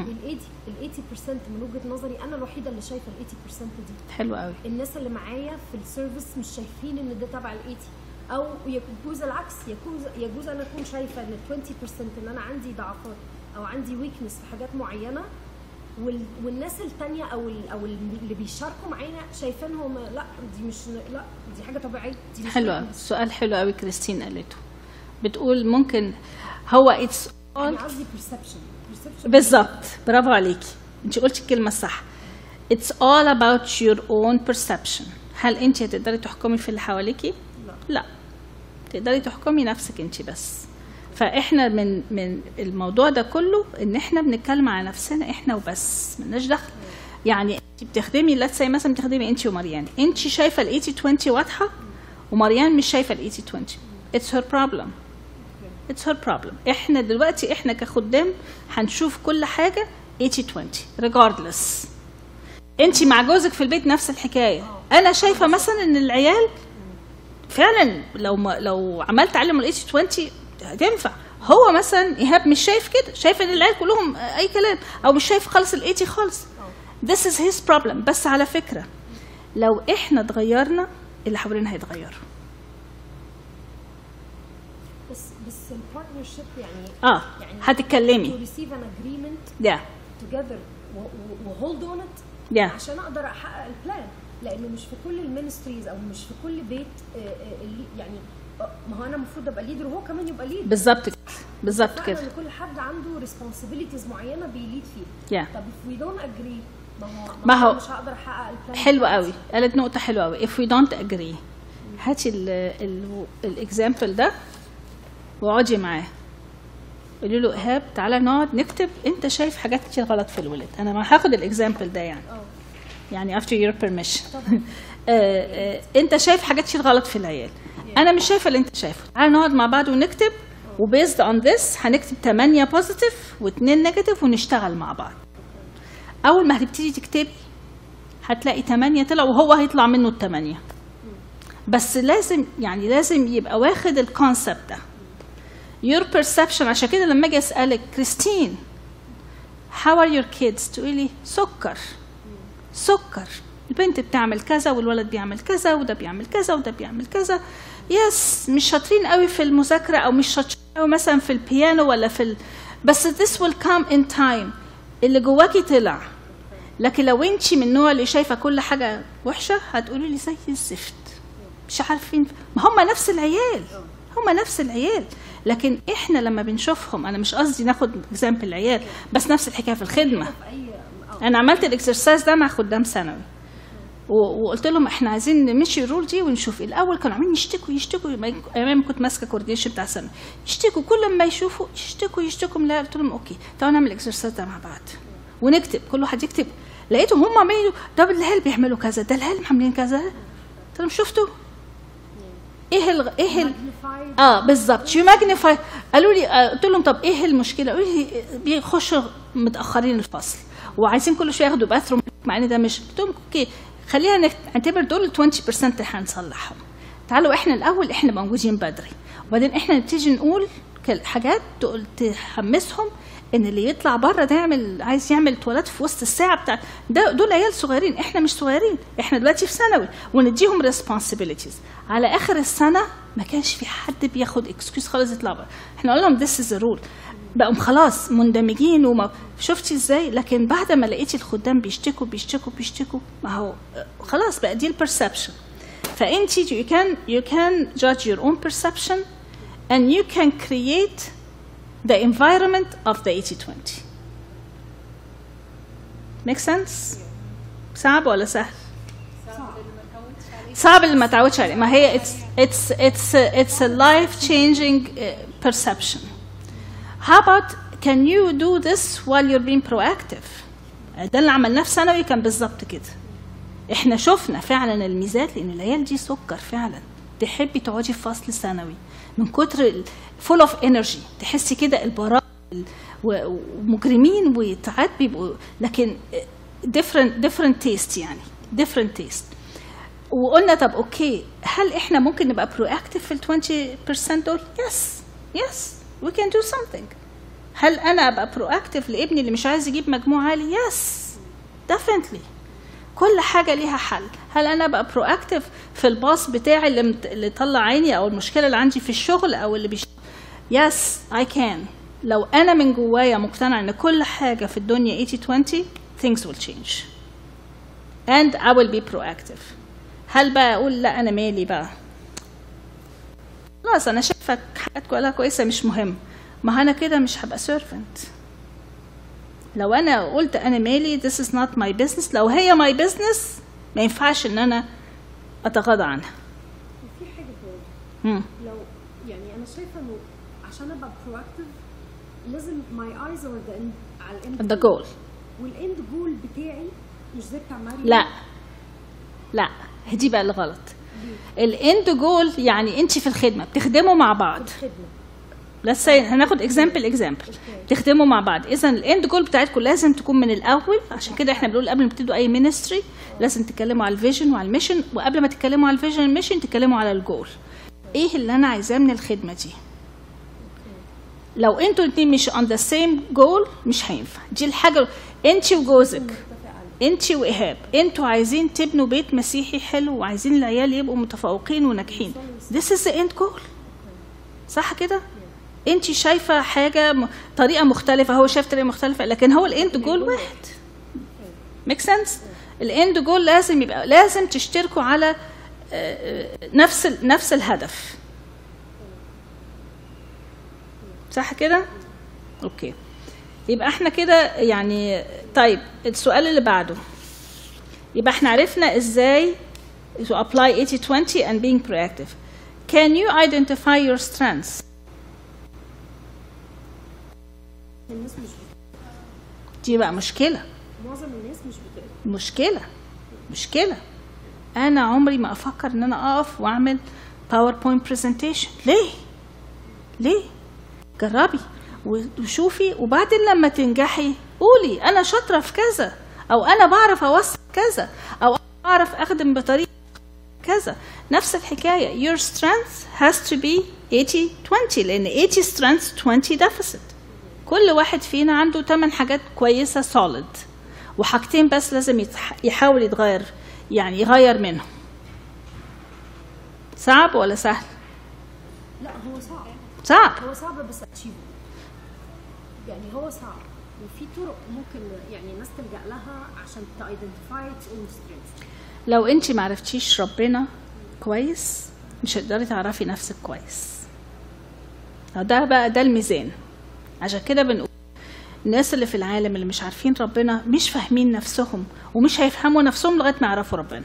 ال 80% من وجهه نظري انا الوحيده اللي شايفه ال 80% دي. حلو قوي. الناس اللي معايا في السيرفيس مش شايفين ان ده تبع ال 80، او يجوز العكس، يجوز انا اكون شايفه ان 20% ان انا عندي ضعفات او عندي ويكنس في حاجات معينه، والناس الثانيه او اللي بيشاركوا معانا شايفينهم لا دي مش، لا دي حاجه طبيعيه، دي مش حلوه. سؤال حلو قوي كريستين قالته، بتقول ممكن هو اتس انا قصدي perception بالظبط، برافو عليكي، انت قلتي الكلمه الصح. It's all about your own perception. هل انت هتقدري تحكمي في اللي حواليكي؟ لا، تقدري تحكمي نفسك انت بس. فاحنا من الموضوع ده كله ان احنا بنتكلم على نفسنا احنا وبس، ملناش دخل. يعني انت بتخدمي لاتس مثلا بتخدمي انت ومريان، انت شايفه ال 80-20 واضحه ومريان مش شايفه ال 80-20. It's her problem. It's her problem. احنا دلوقتي احنا كخدام هنشوف كل حاجه 80-20 regardless. انت مع جوزك في البيت نفس الحكايه. انا شايفه مثلا ان العيال فعلا لو عملت عليهم ال 80-20 هتنفع. هو مثلا ايهاب مش شايف كده، شايف ان العيال كلهم اي كلام، او مش شايف خالص ال 80 خالص. This is his problem. بس على فكره لو احنا اتغيرنا اللي حوالينا هيتغيروا. بس البارتنرشيب يعني يعني هتتكلمي to receive an agreement together وhold on it عشان اقدر احقق البلان، لانه مش في كل المينستريز او مش في كل بيت يعني ما هو انا المفروض ابقى ليدر وهو كمان يبقى ليدر. بالظبط كده، بالظبط كده. كل حد عنده ريسبونسبيلتيز معينه بيليد فيها. طب if we don't agree ما هو مش هقدر احقق البلان. حلو قوي، قالت نقطه حلوه قوي. if we don't agree هاتي الاكزامبل ده واقعدي معاه، قولي له ايهاب تعالى نقعد نكتب، انت شايف حاجات كتير غلط في الولاد. انا ما هاخد الاكزامبل ده يعني after your permission. انت شايف حاجات كتير غلط في العيال، انا مش شايفه اللي انت شايفه. تعالى نقعد مع بعض ونكتب، وبيزد اون ذس هنكتب 8 بوزيتيف و2 نيجاتيف ونشتغل مع بعض. اول ما هتبتدي تكتبي هتلاقي 8 طلع وهو هيطلع منه ال8. بس لازم يبقى واخد الكونسبت ده your perception. عشان كده لما اجي اسالك كريستين how are your kids تقولي سكر البنت بتعمل كذا والولد بيعمل كذا وده بيعمل كذا وده بيعمل كذا. يس مش شاطرين قوي في المذاكره، او مش شاطرين قوي مثلا في البيانو ولا في بس this will come in time. اللي جواكي طلع. لكن لو انتي من النوع اللي شايفه كل حاجه وحشه هتقولي لي زي الزفت، مش عارفين. ما هم نفس العيال، هم نفس العيال. لكن احنا لما بنشوفهم، انا مش قصدي ناخد اكزامبل العيال، بس نفس الحكايه في الخدمه. انا عملت الاكسرسايز ده مع خدام ثانوي، وقلت لهم احنا عايزين نمشي الرول دي ونشوف. الاول كانوا عاملين يشتكوا ايام كنت ماسكه كوردينيشن بتاع ثانوي، يشتكوا كل ما يشوفوا يشتكوا. لا، قلت لهم اوكي تعالوا نعمل الاكسرسايز ده مع بعض ونكتب، كل واحد يكتب. لقيتهم هم عاملين ده العيال بيعملوا كذا، ده العيال عاملين كذا. قلت لهم شفتوا ايه بالظبط يو ماجنيفاي. قالوا لي، قلت لهم طب ايه المشكله؟ قالوا لي بيخشوا متاخرين الفصل وعايزين كل شويه ياخدوا باثروم، مع ان ده مش. قلت لهم اوكي خلينا نعتبر دول 20% اللي هنصلحهم. تعالوا احنا الاول احنا موجودين بدري، وبعدين احنا نبتدي نقول حاجات تحمسهم ان اللي يطلع بره ده عايز يعمل تواليت في وسط الساعه بتاع ده. دول عيال صغيرين، احنا مش صغيرين، احنا دلوقتي في ثانوي، ونديهم responsibilities. على اخر السنه ما كانش في حد بياخد اكسكيوز خالص يطلع بره. احنا قلنا لهم this is the rule، بقوا خلاص مندمجين. وما شفتي ازاي؟ لكن بعد ما لقيتي الخدام بيشتكوا، ما هو خلاص بقى دي البرسبشن. فانت you can judge your own perception and you can create the environment of the 80-20. Make sense? صعب ولا سهل؟ صعب اللي ما تعودش عليه. ما هي it's a life changing perception. How about can you do this while you're being proactive؟ ده اللي عملناه في ثانوي كان بالظبط كده. احنا شفنا فعلا الميزات، لان العيال دي سكر فعلا، تحبي تقعدي في فصل ثانوي من كتر full of energy، تحسي كده البراء ومجرمين وساعات بيبقوا، لكن different taste، يعني different taste. وقلنا طب اوكي هل احنا ممكن نبقى proactive في ال 20% دول؟ yes we can do something. هل انا ابقى proactive لابني اللي مش عايز يجيب مجموع عالي؟ yes definitely. كل حاجه ليها حل. هل انا ابقى proactive في الباص بتاعي اللي طلع عيني، او المشكله اللي عندي في الشغل، او اللي yes I can. لو انا من جوايا مقتنع ان كل حاجه في الدنيا 80-20 things will change and I will be proactive. هل بقى اقول لا انا مالي بقى، خلاص انا شايفه حاجات كلها كويسه مش مهم، ما انا كده مش هبقى servant. لو انا قلت انا مالي this is not my business، لو هي my business ما ينفعش ان انا اتغاضى عنها. في حاجه برضه لو يعني انا شايفه انه عشان ابقى proactive لازم my eyes are على الاند the goal، والاند جول بتاعي مش زي بتاع مريم. لا دي بقى اللي غلط. الاند جول يعني انت في الخدمه بتخدموا مع بعض. let's say هناخد example تخدموا مع بعض. اذا الاند جول بتاعتكم لازم تكون من الاول. عشان كده احنا بنقول قبل ما تبتدوا اي مينستري لازم تتكلموا على الفيجن وعلى الميشن، وقبل ما تتكلموا على الفيجن والميشن تتكلموا على الجول. ايه اللي انا عايزاه من الخدمه دي؟ لو انتوا الاثنين مش on the same goal مش هينفع. دي الحاجه. انت وجوزك، انت وايهاب، انتوا عايزين تبنوا بيت مسيحي حلو وعايزين العيال يبقوا متفوقين وناجحين. this is the end goal. صح كده؟ انت شايفه حاجه طريقه مختلفه، هو شايف طريقه مختلفه، لكن هو الاند جول واحد. ميك سنس؟ الاند جول لازم تشتركوا على نفس الهدف. صح كده؟ اوكي. يبقى احنا كده يعني. طيب السؤال اللي بعده، يبقى احنا عرفنا ازاي to apply 80-20 and being proactive. Can you identify your strengths؟ الناس مش دي بقى مشكلة. معظم الناس مش بتقدر. مشكلة. أنا عمري ما أفكر إن أنا أقف وأعمل PowerPoint presentation. ليه؟ جربي وشوفي، وبعدين لما تنجحي قولي أنا شاطرة في كذا، أو أنا بعرف أوصل كذا، أو أنا بعرف أخدم بطريقة كذا. نفس الحكاية. Your strength has to be 80-20، لأن 80 strengths 20 deficit. كل واحد فينا عنده 8 حاجات كويسة solid، وحاجتين بس لازم يحاول يتغير، يعني يغير منهم. صعب ولا سهل؟ لا هو صعب. هو صعب بس achievable. يعني هو صعب، وفي طرق ممكن يعني الناس تلجأ لها عشان تايدنتيفاي its own strengths. لو انت ما عرفتيش ربنا كويس مش هتقدري تعرفي نفسك كويس. ده بقى ده الميزان. عشان كده بنقول الناس اللي في العالم اللي مش عارفين ربنا مش فاهمين نفسهم ومش هيفهموا نفسهم لغايه ما يعرفوا ربنا.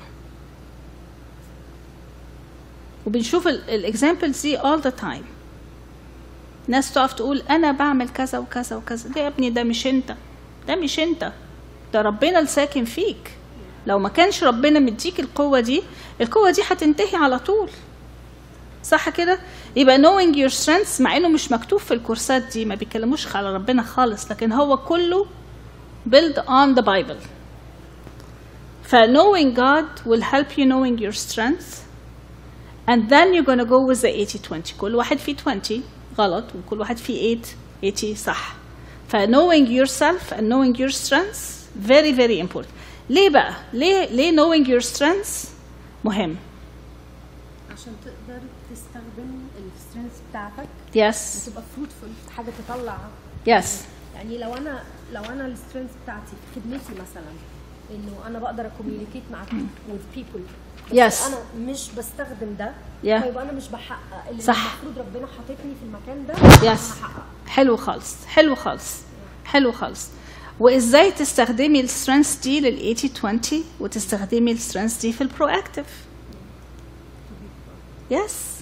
وبنشوف الاكزامبلز دي all the time. ناس تقف تقول انا بعمل كذا وكذا وكذا. ده يا ابني ده مش انت، ده مش انت، ده ربنا الساكن فيك. لو ما كانش ربنا مديك القوه دي هتنتهي على طول. صح كده؟ يبقى knowing your strengths، مع انه مش مكتوب في الكورسات دي، ما بيتكلموش على ربنا خالص، لكن هو كله build on the Bible. ف knowing God will help you knowing your strengths, and then you're gonna go with the 80-20. كل واحد فيه 20 غلط وكل واحد فيه 80 صح. ف knowing yourself and knowing your strengths very very important. ليه بقى؟ ليه knowing your strengths مهم؟ عشان تقدر تستخدم السترينث بتاعتك yes وتبقى فروتفul في حاجه تطلع. yes يعني لو انا السترينث بتاعتي في خدمتي مثلا انه انا بقدر اكوميونيكيت مع with people، بس yes انا مش بستخدم ده، yeah. فيبقى انا مش بحقق اللي صح. المفروض ربنا حاططني في المكان ده yes. انا هحقق. حلو خالص حلو خالص حلو خالص. وازاي تستخدمي السترينث دي لل 80-20 وتستخدمي السترينث دي في البرواكتيف. يس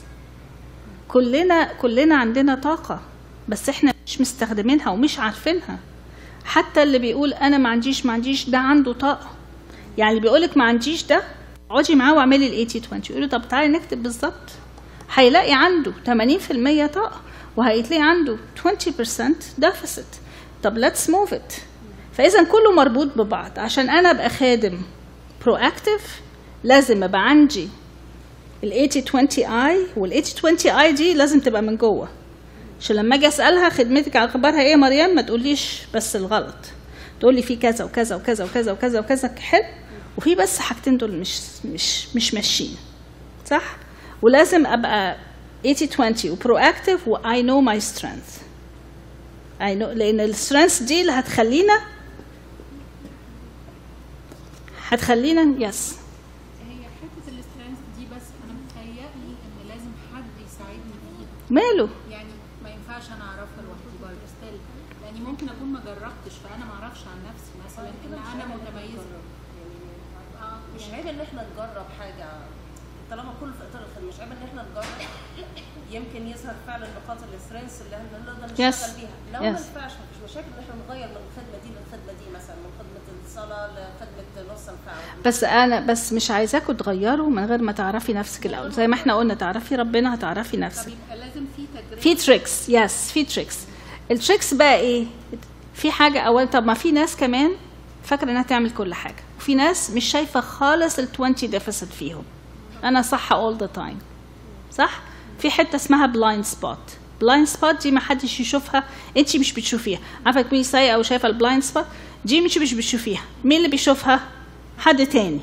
كلنا عندنا طاقة بس احنا مش مستخدمينها ومش عارفينها. حتى اللي بيقول انا ما عنديش ده عنده طاقة. يعني اللي بيقولك ما عنديش ده اقعدي معاه واعملي ال 80-20 يقولوا طب تعالي نكتب بالظبط، هيلاقي عنده 80% طاقة وهيتلاقي عنده 20% ديفيسيت. طب let's move it. فإذا كله مربوط ببعض. عشان أنا أبقى خادم proactive لازم أبقى عندي ال 80-20 I، وال 80-20 I دي لازم تبقى من جوه. عشان لما أجي أسألها خدمتك على أخبارها إيه يا مريم، ما تقوليش بس الغلط، تقولي في كذا وكذا وكذا وكذا وكذا وكذا حلو، وفي بس حاجتين دول مش ماشيين صح. ولازم أبقى 80-20 و proactive و I know my strength. I know، لأن السترينث دي اللي هتخلينا يس. هي حته السترينث دي، بس انا متهيألي ان لازم حد يساعدني فيها. ماله؟ يعني ما ينفعش انا اعرفها لوحدي برضه ستيل، لاني ممكن اكون ما جربتش فانا ما اعرفش عن نفسي مثلا ان انا متميزه. مش عيب ان احنا نجرب حاجه طالما كله في اطار الخدمه، مش عيب ان احنا نجرب، يمكن يظهر فعلا نقاط السترينث اللي احنا نقدر نشتغل بيها. لو ما ينفعش مفيش مشاكل ان احنا نغير من الخدمه دي للخدمه دي، مثلا من خدمه الصلاه لخدمه نص الفعل. بس مش عايزاكم تغيروا من غير ما تعرفي نفسك الاول. زي ما احنا قلنا تعرفي ربنا هتعرفي نفسك. طب يبقى لازم في تدريب، في تريكس. يس في تريكس. التريكس بقى ايه؟ في حاجه اول، طب ما في ناس كمان فاكره انها تعمل كل حاجه، وفي ناس مش شايفه خالص ال 20 ديفيسيت فيهم. انا صح all the time صح. في حته اسمها بلايند سبوت. بلايند سبوت دي ما حدش يشوفها، انت مش بتشوفيها. عارفه تكوني سايقه وشايفه البلايند سبوت دي مش بتشوفيها، مين اللي بيشوفها؟ حد تاني.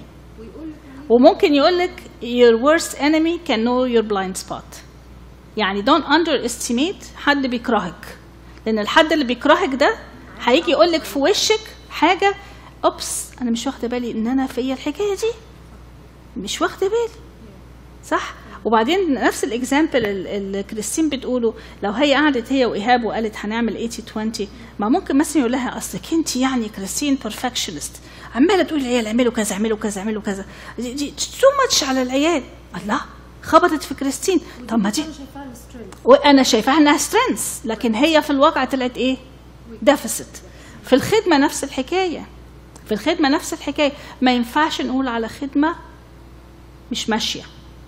وممكن يقول لك your worst enemy can know your blind spot. يعني don't underestimate حد بيكرهك، لان الحد اللي بيكرهك ده هيجي يقول لك في وشك حاجه، اوبس انا مش واخده بالي ان انا فيا الحكايه دي، مش واخده بالي صح. وبعدين نفس الاكزامبل اللي كريستين بتقوله، لو هي قعدت هي وايهاب وقالت هنعمل 80-20، ما ممكن مثلا يقول لها اصلك انت يعني كريستين بيرفكشنست، عماله تقول العيال اعملوا كذا اعملوا كذا اعملوا كذا، دي تو ماتش على العيال. الله خبطت في كريستين. طب ما دي وانا شايفاها انها سترينث، لكن هي في الواقع طلعت ايه؟ ديفيسيت. في الخدمه نفس الحكايه. في الخدمه نفس الحكايه. ما ينفعش نقول على خدمه مش ماشيه،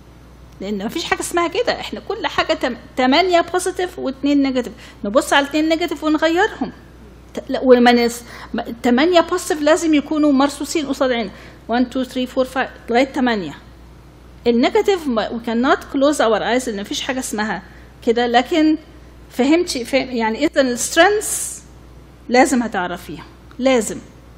لان مفيش حاجه اسمها كده. احنا كل حاجه 8 بوزيتيف و2 نيجاتيف، نبص على 2 نيجاتيف ونغيرهم. ولما 8 بوزيتيف لازم يكونوا مرصوصين قصاد عيننا 1 2 3 4 5 لغايه 8. النيجاتيف we cannot close our eyes، لان مفيش حاجه اسمها كده. لكن فهمتي يعني اذا السترينث لازم هتعرفيها، لازم.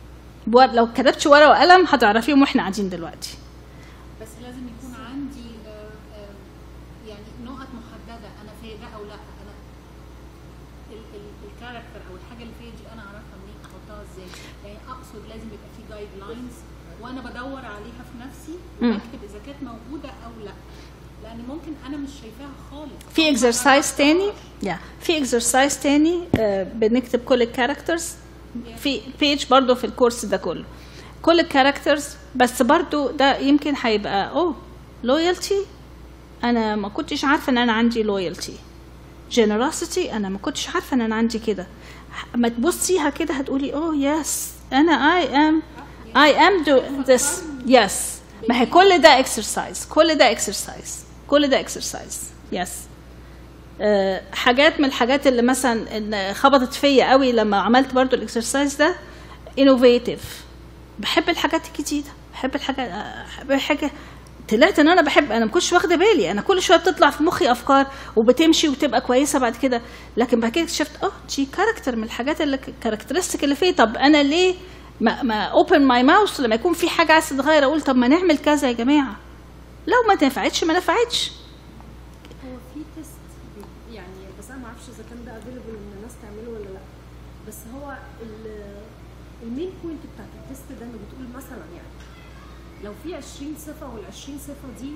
لو كتبتش ورقه وقلم هتعرفيهم واحنا قاعدين دلوقتي. بس لازم يكون عندي يعني نقط محدده انا في ده او لا. انا الكاركتر او الحاجه اللي فيها دي انا اعرفها منين، احطها ازاي؟ يعني اقصد لازم يبقى في جايد لاينز وانا بدور عليها في نفسي بكتب اذا كانت موجوده او لا، لان ممكن انا مش شايفاها خالص. في اكسرسايز تاني في اكسرسايز تاني بنكتب كل الكاركترز في بيج برضو في الكورس ده كله، كل الكاركترز، بس برضو ده يمكن هيبقى لويالتي، انا ما كنتش عارفه ان انا عندي لويالتي. generosity انا ما كنتش عارفه ان انا عندي كده. ما تبصيها كده هتقولي يس انا I am doing this. yes ما هي كل ده exercise، كل ده exercise. yes حاجات من الحاجات اللي مثلا إن خبطت فيا قوي لما عملت برضو الاكسرسايز ده innovative. بحب الحاجات الجديده، بحب حاجه طلعت ان انا ما كنتش واخده بالي، انا كل شويه بتطلع في مخي افكار وبتمشي وتبقى كويسه بعد كده، لكن بعد كده اكتشفت دي كاركتر من الحاجات اللي كاركترستيك اللي فيه. طب انا ليه ما اوبن ماي ماوث لما يكون في حاجه عايزه تتغير، اقول طب ما نعمل كذا يا جماعه، لو ما نفعتش ما نفعتش. هو في تيست يعني، بس انا ما اعرفش اذا كان ده افيلبل ان الناس تعمله ولا لا، بس هو المين بوينت بتاعت التيست ده انه بتقول مثلا يعني لو في 20 صفه وال20 صفه دي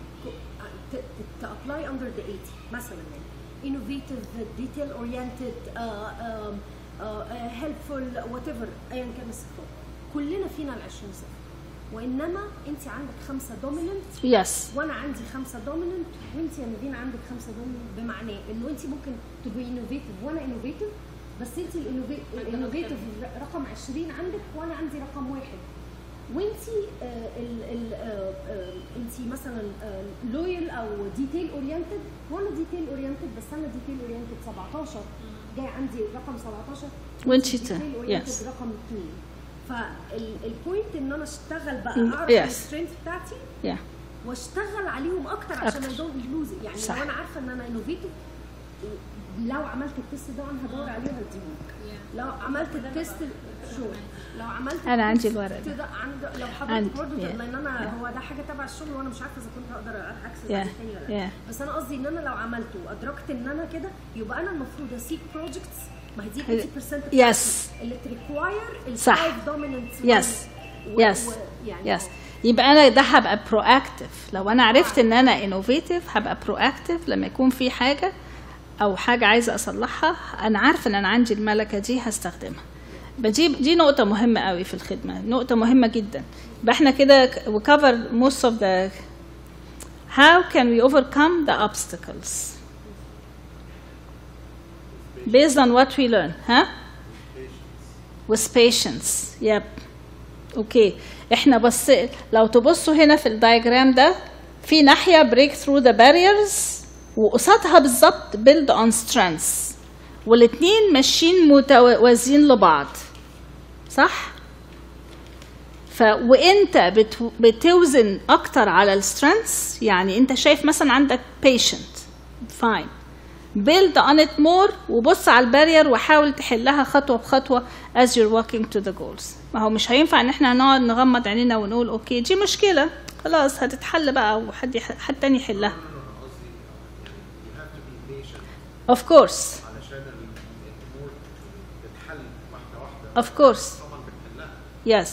تابلاي اندر ذا 80 مثلا، يعني innovative, detail oriented, helpful, whatever ايا كان الصفات، كلنا فينا ال20 صفه، وانما انت عندك 5 دوميننت يس وانا عندي 5 دوميننت وانت يا نادين عندك 5 دوميننت، بمعنى انه انت ممكن تبقي انوفيتيف وانا انوفيتيف، بس انت الانوفيتيف رقم 20 عندك وانا عندي رقم 1، وانت انت مثلا لويال او ديتيل اورينتد وانا ديتيل اورينتد، بس انا ديتيل اورينتد 17 جاي عندي رقم 17 وانت ديتيل اورينتد رقم 2. فالبوينت ان انا اشتغل بقى اعرف السترينث بتاعتي واشتغل عليهم اكتر عشان ما دونت لوز. يعني صح. لو انا عارفه ان انا انوفيتيف، لو عملت التست ده انا هدور عليه وهديه. لو عملت التست لو عملت انا عندي الورق ده لو حضرتك برضه لان انا هو ده حاجه تبع الشغل وانا مش عارفه اذا كنت هقدر اكسس تاني ولا لا، بس انا قصدي ان انا لو عملته وادركت ان انا كده، يبقى انا المفروض اسيك بروجكتس، ما هي دي 80% يس اللي تريكواير صح دوميننت. يس يبقى انا ده هبقى برو اكتف. لو انا عرفت ان انا انوفيتيف هبقى برو اكتف لما يكون في حاجه او حاجه عايزه اصلحها، انا عارفه ان انا عندي الملكه دي هستخدمها. دي نقطه مهمه قوي في الخدمه، نقطه مهمه جدا. يبقى احنا كده we cover most of the how can we overcome the obstacles based on what we learn. with patience. yep. اوكي احنا بس لو تبصوا هنا في الدايجرام ده، في ناحيه break through the barriers وقصادها بالظبط build on strengths، والاثنين ماشيين متوازيين لبعض، صح؟ وانت بتوزن اكتر على السترينثs، يعني انت شايف مثلا عندك patient fine build on it more وبص على البارير وحاول تحلها خطوه بخطوه as you're walking to the goals. ما هو مش هينفع ان احنا نقعد نغمض عينينا ونقول اوكي دي مشكله خلاص هتتحل بقى وحد تاني يحلها. of course of course yes.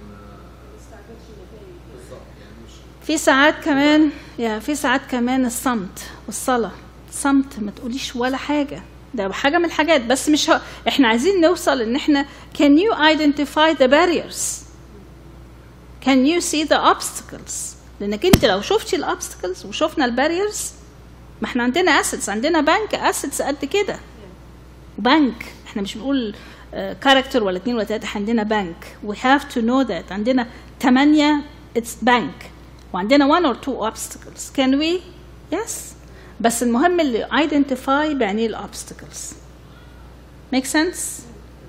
في ساعات كمان الصمت والصلاة. الصمت ما تقوليش ولا حاجة، ده حاجة من الحاجات، بس مش احنا عايزين نوصل ان احنا can you identify the barriers, can you see the obstacles. لانك انت لو شفتي الobstacles وشفنا الباريرز، ما احنا عندنا assets، عندنا بنك assets قد كده، بنك احنا مش بنقول كاركتر ولا 2 ولا 3، عندنا بنك we have to know that. عندنا 8 it's bank وعندنا 1 or 2 obstacles can we yes. بس المهم اللي identify بعني الobstacles make sense.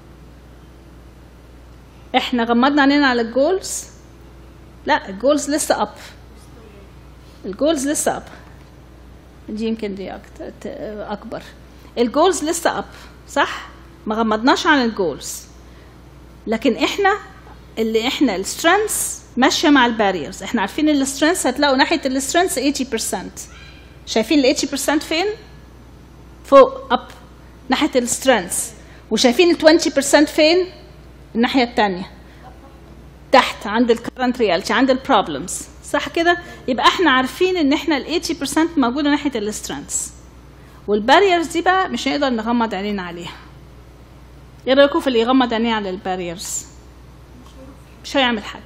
احنا غمضنا عينينا على الجولز، لا الجولز لسه up، الجولز لسه up، دي يمكن دي اكبر. الجولز لسه up صح، ما غمضناش عن الجولز، لكن احنا السترينثs ماشيه مع الباريرز. احنا عارفين السترينثs هتلاقوا ناحيه السترينثs 80%، شايفين ال 80% فين؟ فوق up ناحيه السترينث، وشايفين ال 20% فين؟ الناحيه الثانيه تحت عند الكرنت رياليتي، عند البروبلمز، صح كده؟ يبقى احنا عارفين ان احنا ال 80% موجوده ناحيه السترينث، والباريرز دي بقى مش هنقدر نغمض عينينا عليها. ايه رايكم في اللي يغمض عينيه على الباريرز؟ مش هيعمل حاجه،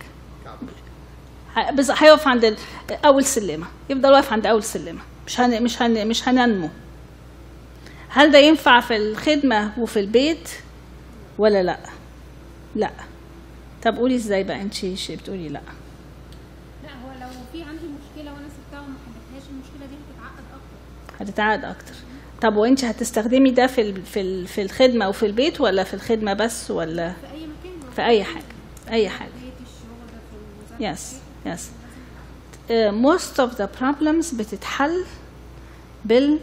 هيقف عند اول سلمه، يفضل واقف عند اول سلمه، مش هننمو. هل ده ينفع في الخدمه وفي البيت ولا لا؟ لا. طب قولي ازاي بقى انت بتقولي لا؟ لا، هو لو في عندي مشكله وانا سبتها وما حلتهاش، المشكله دي هتتعقد اكتر. هتتعقد اكتر. طب وانت هتستخدمي ده في الخدمه وفي البيت، ولا في الخدمه بس، ولا في اي مكان؟ في اي حاجه؟ اي حاجه. Yes, yes. Most of the problems بتتحل بال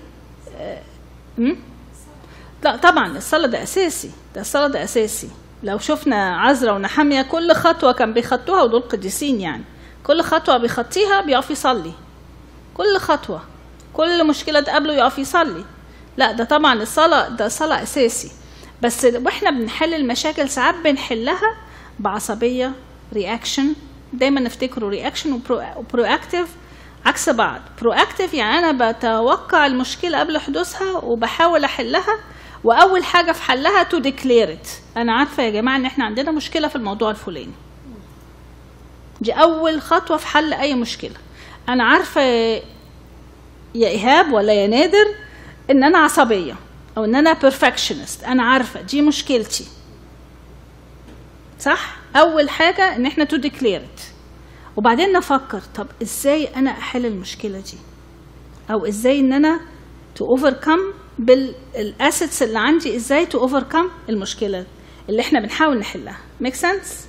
لا طبعا الصلاة ده أساسي، ده الصلاة ده أساسي. لو شفنا عزرا ونحمية كل خطوة كان بيخطوها، ودول قديسين يعني، كل خطوة بيخطيها بيقف يصلي، كل خطوة، كل مشكلة تقابله يقف يصلي. لا ده طبعا الصلاة ده صلاة أساسي. بس واحنا بنحل المشاكل ساعات بنحلها بعصبية، رياكشن. دايما نفتكروا رياكشن وبرو-اكتيف عكس بعض. برو-اكتيف يعني انا بتوقع المشكله قبل حدوثها وبحاول احلها، واول حاجه في حلها تو ديكلير ات. انا عارفه يا جماعه ان احنا عندنا مشكله في الموضوع الفلاني، دي اول خطوه في حل اي مشكله. انا عارفه يا ايهاب ولا يا نادر ان انا عصبيه او ان انا بيرفكشنست، انا عارفه دي مشكلتي، صح؟ اول حاجه ان احنا تو ديكلير ات، وبعدين نفكر طب ازاي انا احل المشكله دي، او ازاي ان انا تو اوفركم بالاسيتس اللي عندي، ازاي تو اوفركم المشكله اللي احنا بنحاول نحلها. ميك سنس؟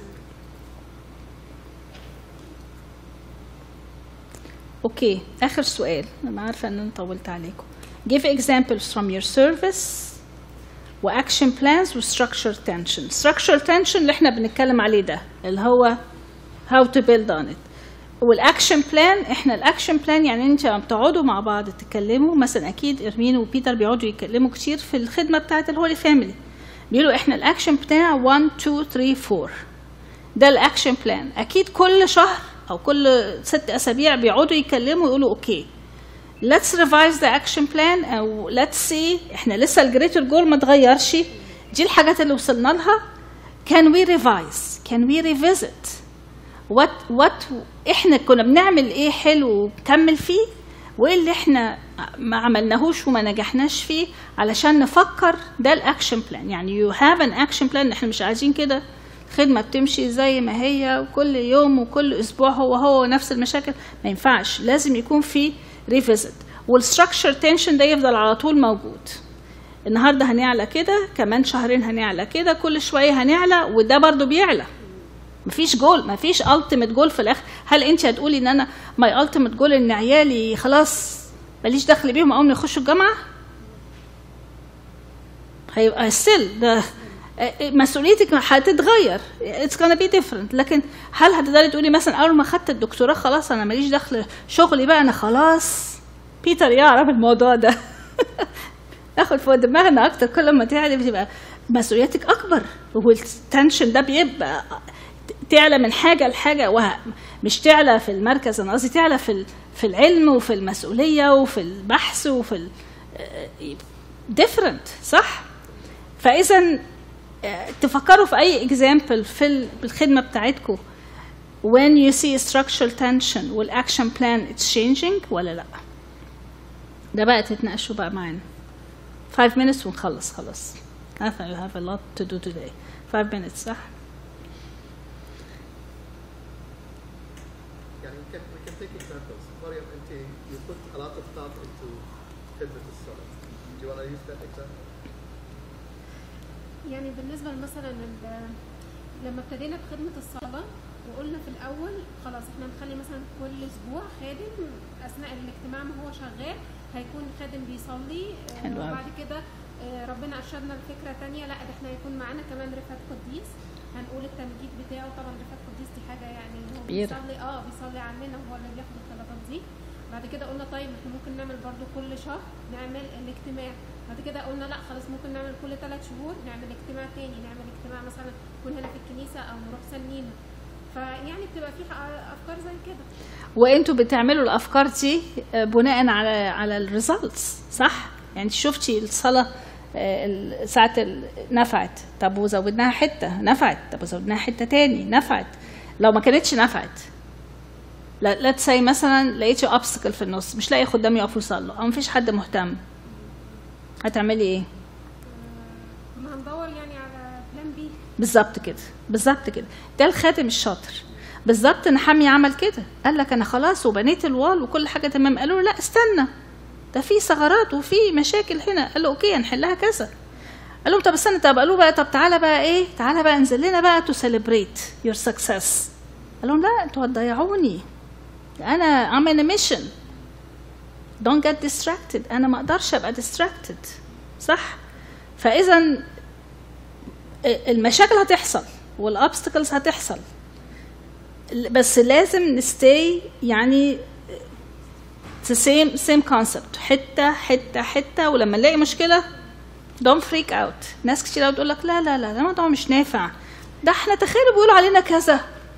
اوكي، اخر سؤال، انا عارفه ان انا طولت عليكم. give examples from your service واكشن بلانز وستراكشر تنشن. ستراكشر تنشن اللي احنا بنتكلم عليه ده اللي هو how to build on it. والاكشن بلان، احنا الاكشن بلان يعني انت بتقعدوا مع بعض تتكلموا، مثلا اكيد ارمين وبيتر بيقعدوا يتكلموا كتير في الخدمه بتاعه الهولي فاميلي، بيقولوا احنا الاكشن بتاع 1 2 3 4، ده الاكشن بلان. اكيد كل شهر او كل 6 اسابيع بيقعدوا يتكلموا يقولوا اوكي let's revise the action plan، او let's see احنا لسه الجريتر جول ما اتغيرش، دي الحاجات اللي وصلنا لها، can we revise، can we revisit what احنا كنا بنعمل ايه حلو وبكمل فيه، وايه اللي احنا ما عملناهوش وما نجحناش فيه، علشان نفكر. ده الاكشن بلان. يعني you have an action plan. احنا مش عايزين كده خدمه بتمشي زي ما هي وكل يوم وكل اسبوع هو نفس المشاكل، ما ينفعش، لازم يكون في ريفيزيت. والستراكشر تنشن ده يفضل على طول موجود. النهارده هنعلى كده، كمان شهرين هنعلى كده، كل شويه هنعلى، وده برضو بيعلى. مفيش جول، مفيش التيميت جول في الاخر. هل انت هتقولي ان انا ماي التيميت جول ان عيالي خلاص ماليش دخل بيهم اول ما يخشوا الجامعه؟ هيبقى ستيل ده مسؤوليتك هتتغير، it's gonna be different. لكن هل هتقدري تقولي مثلا اول ما خدت الدكتوراه خلاص انا ماليش دخل شغلي بقى، انا خلاص؟ بيتر يعرف الموضوع ده. ناخد فوق دماغنا اكتر، كل ما تعلي بتبقى مسؤوليتك اكبر، والتنشن ده بيبقى تعلى من حاجه لحاجه، مش تعلى في المركز، انا قصدي تعلى في العلم وفي المسؤوليه وفي البحث وفي different، صح؟ فاذا تفكروا في اي example في الخدمه بتاعتكم when you see structural tension والاكشن plan it's changing ولا لا. ده بقى تتناقشوا بقى معانا. 5 minutes ونخلص خلاص. I think you have a lot to do today. 5 minutes صح؟ يعني we can take examples. مريم انت you put a lot of thought into خدمة الصلاة. Do you want to use that example? يعني بالنسبه مثلا لما ابتدينا بخدمه الصلاه وقلنا في الاول خلاص احنا نخلي مثلا كل اسبوع خادم اثناء الاجتماع ما هو شغال هيكون خادم بيصلي، وبعد كده ربنا ارشدنا لفكره ثانيه، لا ده احنا هيكون معانا كمان رفعت قديس، هنقول التمجيد بتاعه. طبعا رفعت قديس دي حاجه يعني هو بيصلي عننا وهو اللي بياخد الطلبات دي. بعد كده قلنا طيب احنا ممكن نعمل برضو كل شهر نعمل الاجتماع. بعد كده قلنا لا خلاص ممكن نعمل كل 3 شهور نعمل اجتماع تاني، نعمل اجتماع مثلا نكون هنا في الكنيسه او نروح سنينا. فيعني بتبقى في افكار زي كده. وانتوا بتعملوا الافكار دي بناء على الريزلتس، صح؟ يعني شفتي الصلاه ساعه نفعت، طب وزودناها حته نفعت، طب وزودناها حته تاني نفعت. لو ما كانتش نفعت، لا تسي مثلا لقيتي اوبستكل في النص، مش لاقي خدام يقفوا يصلوا او مفيش حد مهتم، هتعملي ايه؟ ما هندور يعني على بلان بي. بالظبط كده، بالظبط كده. ده الخادم الشاطر. بالظبط نحمي عمل كده، قال لك انا خلاص وبنيت الوال وكل حاجه تمام. قالوا له لا استنى، ده في ثغرات وفي مشاكل هنا. قال له اوكي هنحلها كذا. قال لهم طب استنى، طب قالوا بقى طب تعالى بقى ايه، تعالى بقى انزل لنا بقى تو سيلبريت يور سكسس. قال لهم لا انتوا هتضيعوني، انا I'm in a mission. don't get distracted. انا ما اقدرش ابقى distracted، صح؟ فاذا المشاكل هتحصل والابستكلز هتحصل، بس لازم نستي يعني the same concept، حته حته حته. ولما نلاقي مشكله don't freak out. ناس كتير بتقول لك لا لا لا الموضوع مش نافع، ده احنا تخيلوا بيقولوا علينا كذا.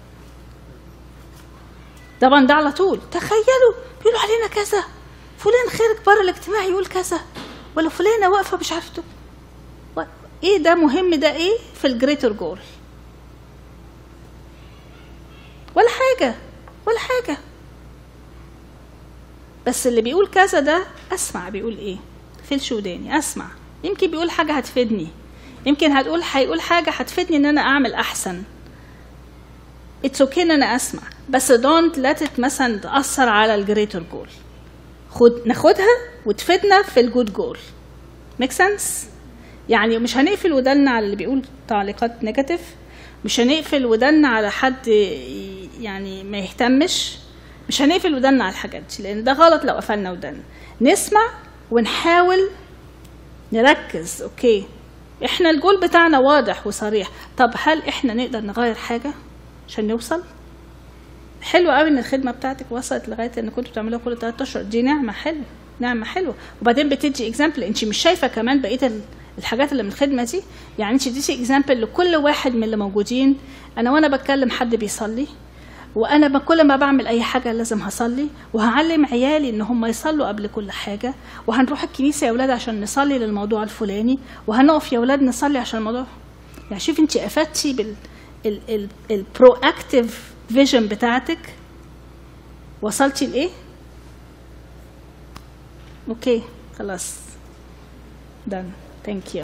طبعا ده على طول تخيلوا بيقولوا علينا كذا، فلان خارج بره الاجتماع يقول كذا، ولا فلانه واقفه مش عارفه ايه. ده مهم، ده ايه في الجريتر جول؟ ولا حاجه ولا حاجه. بس اللي بيقول كذا ده اسمع بيقول ايه، فيلش وداني اسمع، يمكن بيقول حاجه هتفيدني، يمكن هيقول حاجه هتفيدني ان انا اعمل احسن. It's okay ان انا اسمع، بس don't let it مثلا تأثر على الجريتر جول. ناخدها وتفيدنا في الجود جول. make sense؟ يعني مش هنقفل ودنا على اللي بيقول تعليقات نيجاتيف، مش هنقفل ودنا على حد يعني ما يهتمش، مش هنقفل ودنا على الحاجات دي، لان ده غلط لو قفلنا ودنا. نسمع ونحاول نركز. اوكي احنا الجول بتاعنا واضح وصريح، طب هل احنا نقدر نغير حاجه عشان نوصل؟ حلو قوي ان الخدمه بتاعتك وصلت لغايه ان كنتوا بتعملوها كل 3 اشهر، دي نعمه حلوه، نعمه حلوه. وبعدين بتدي اكزامبل، انت مش شايفه كمان بقيه الحاجات اللي من الخدمه دي، يعني انت دي اكزامبل لكل واحد من اللي موجودين. انا وانا بتكلم حد بيصلي، وانا كل ما بعمل اي حاجه لازم هصلي، وهعلم عيالي ان هم يصلوا قبل كل حاجه، وهنروح الكنيسه يا اولاد عشان نصلي للموضوع الفلاني، وهنقف يا اولاد نصلي عشان الموضوع. يعني شوف انت افدتي بالبرو اكتيف فيجن بتاعتك، وصلتي لايه؟ اوكي خلاص done. thank you.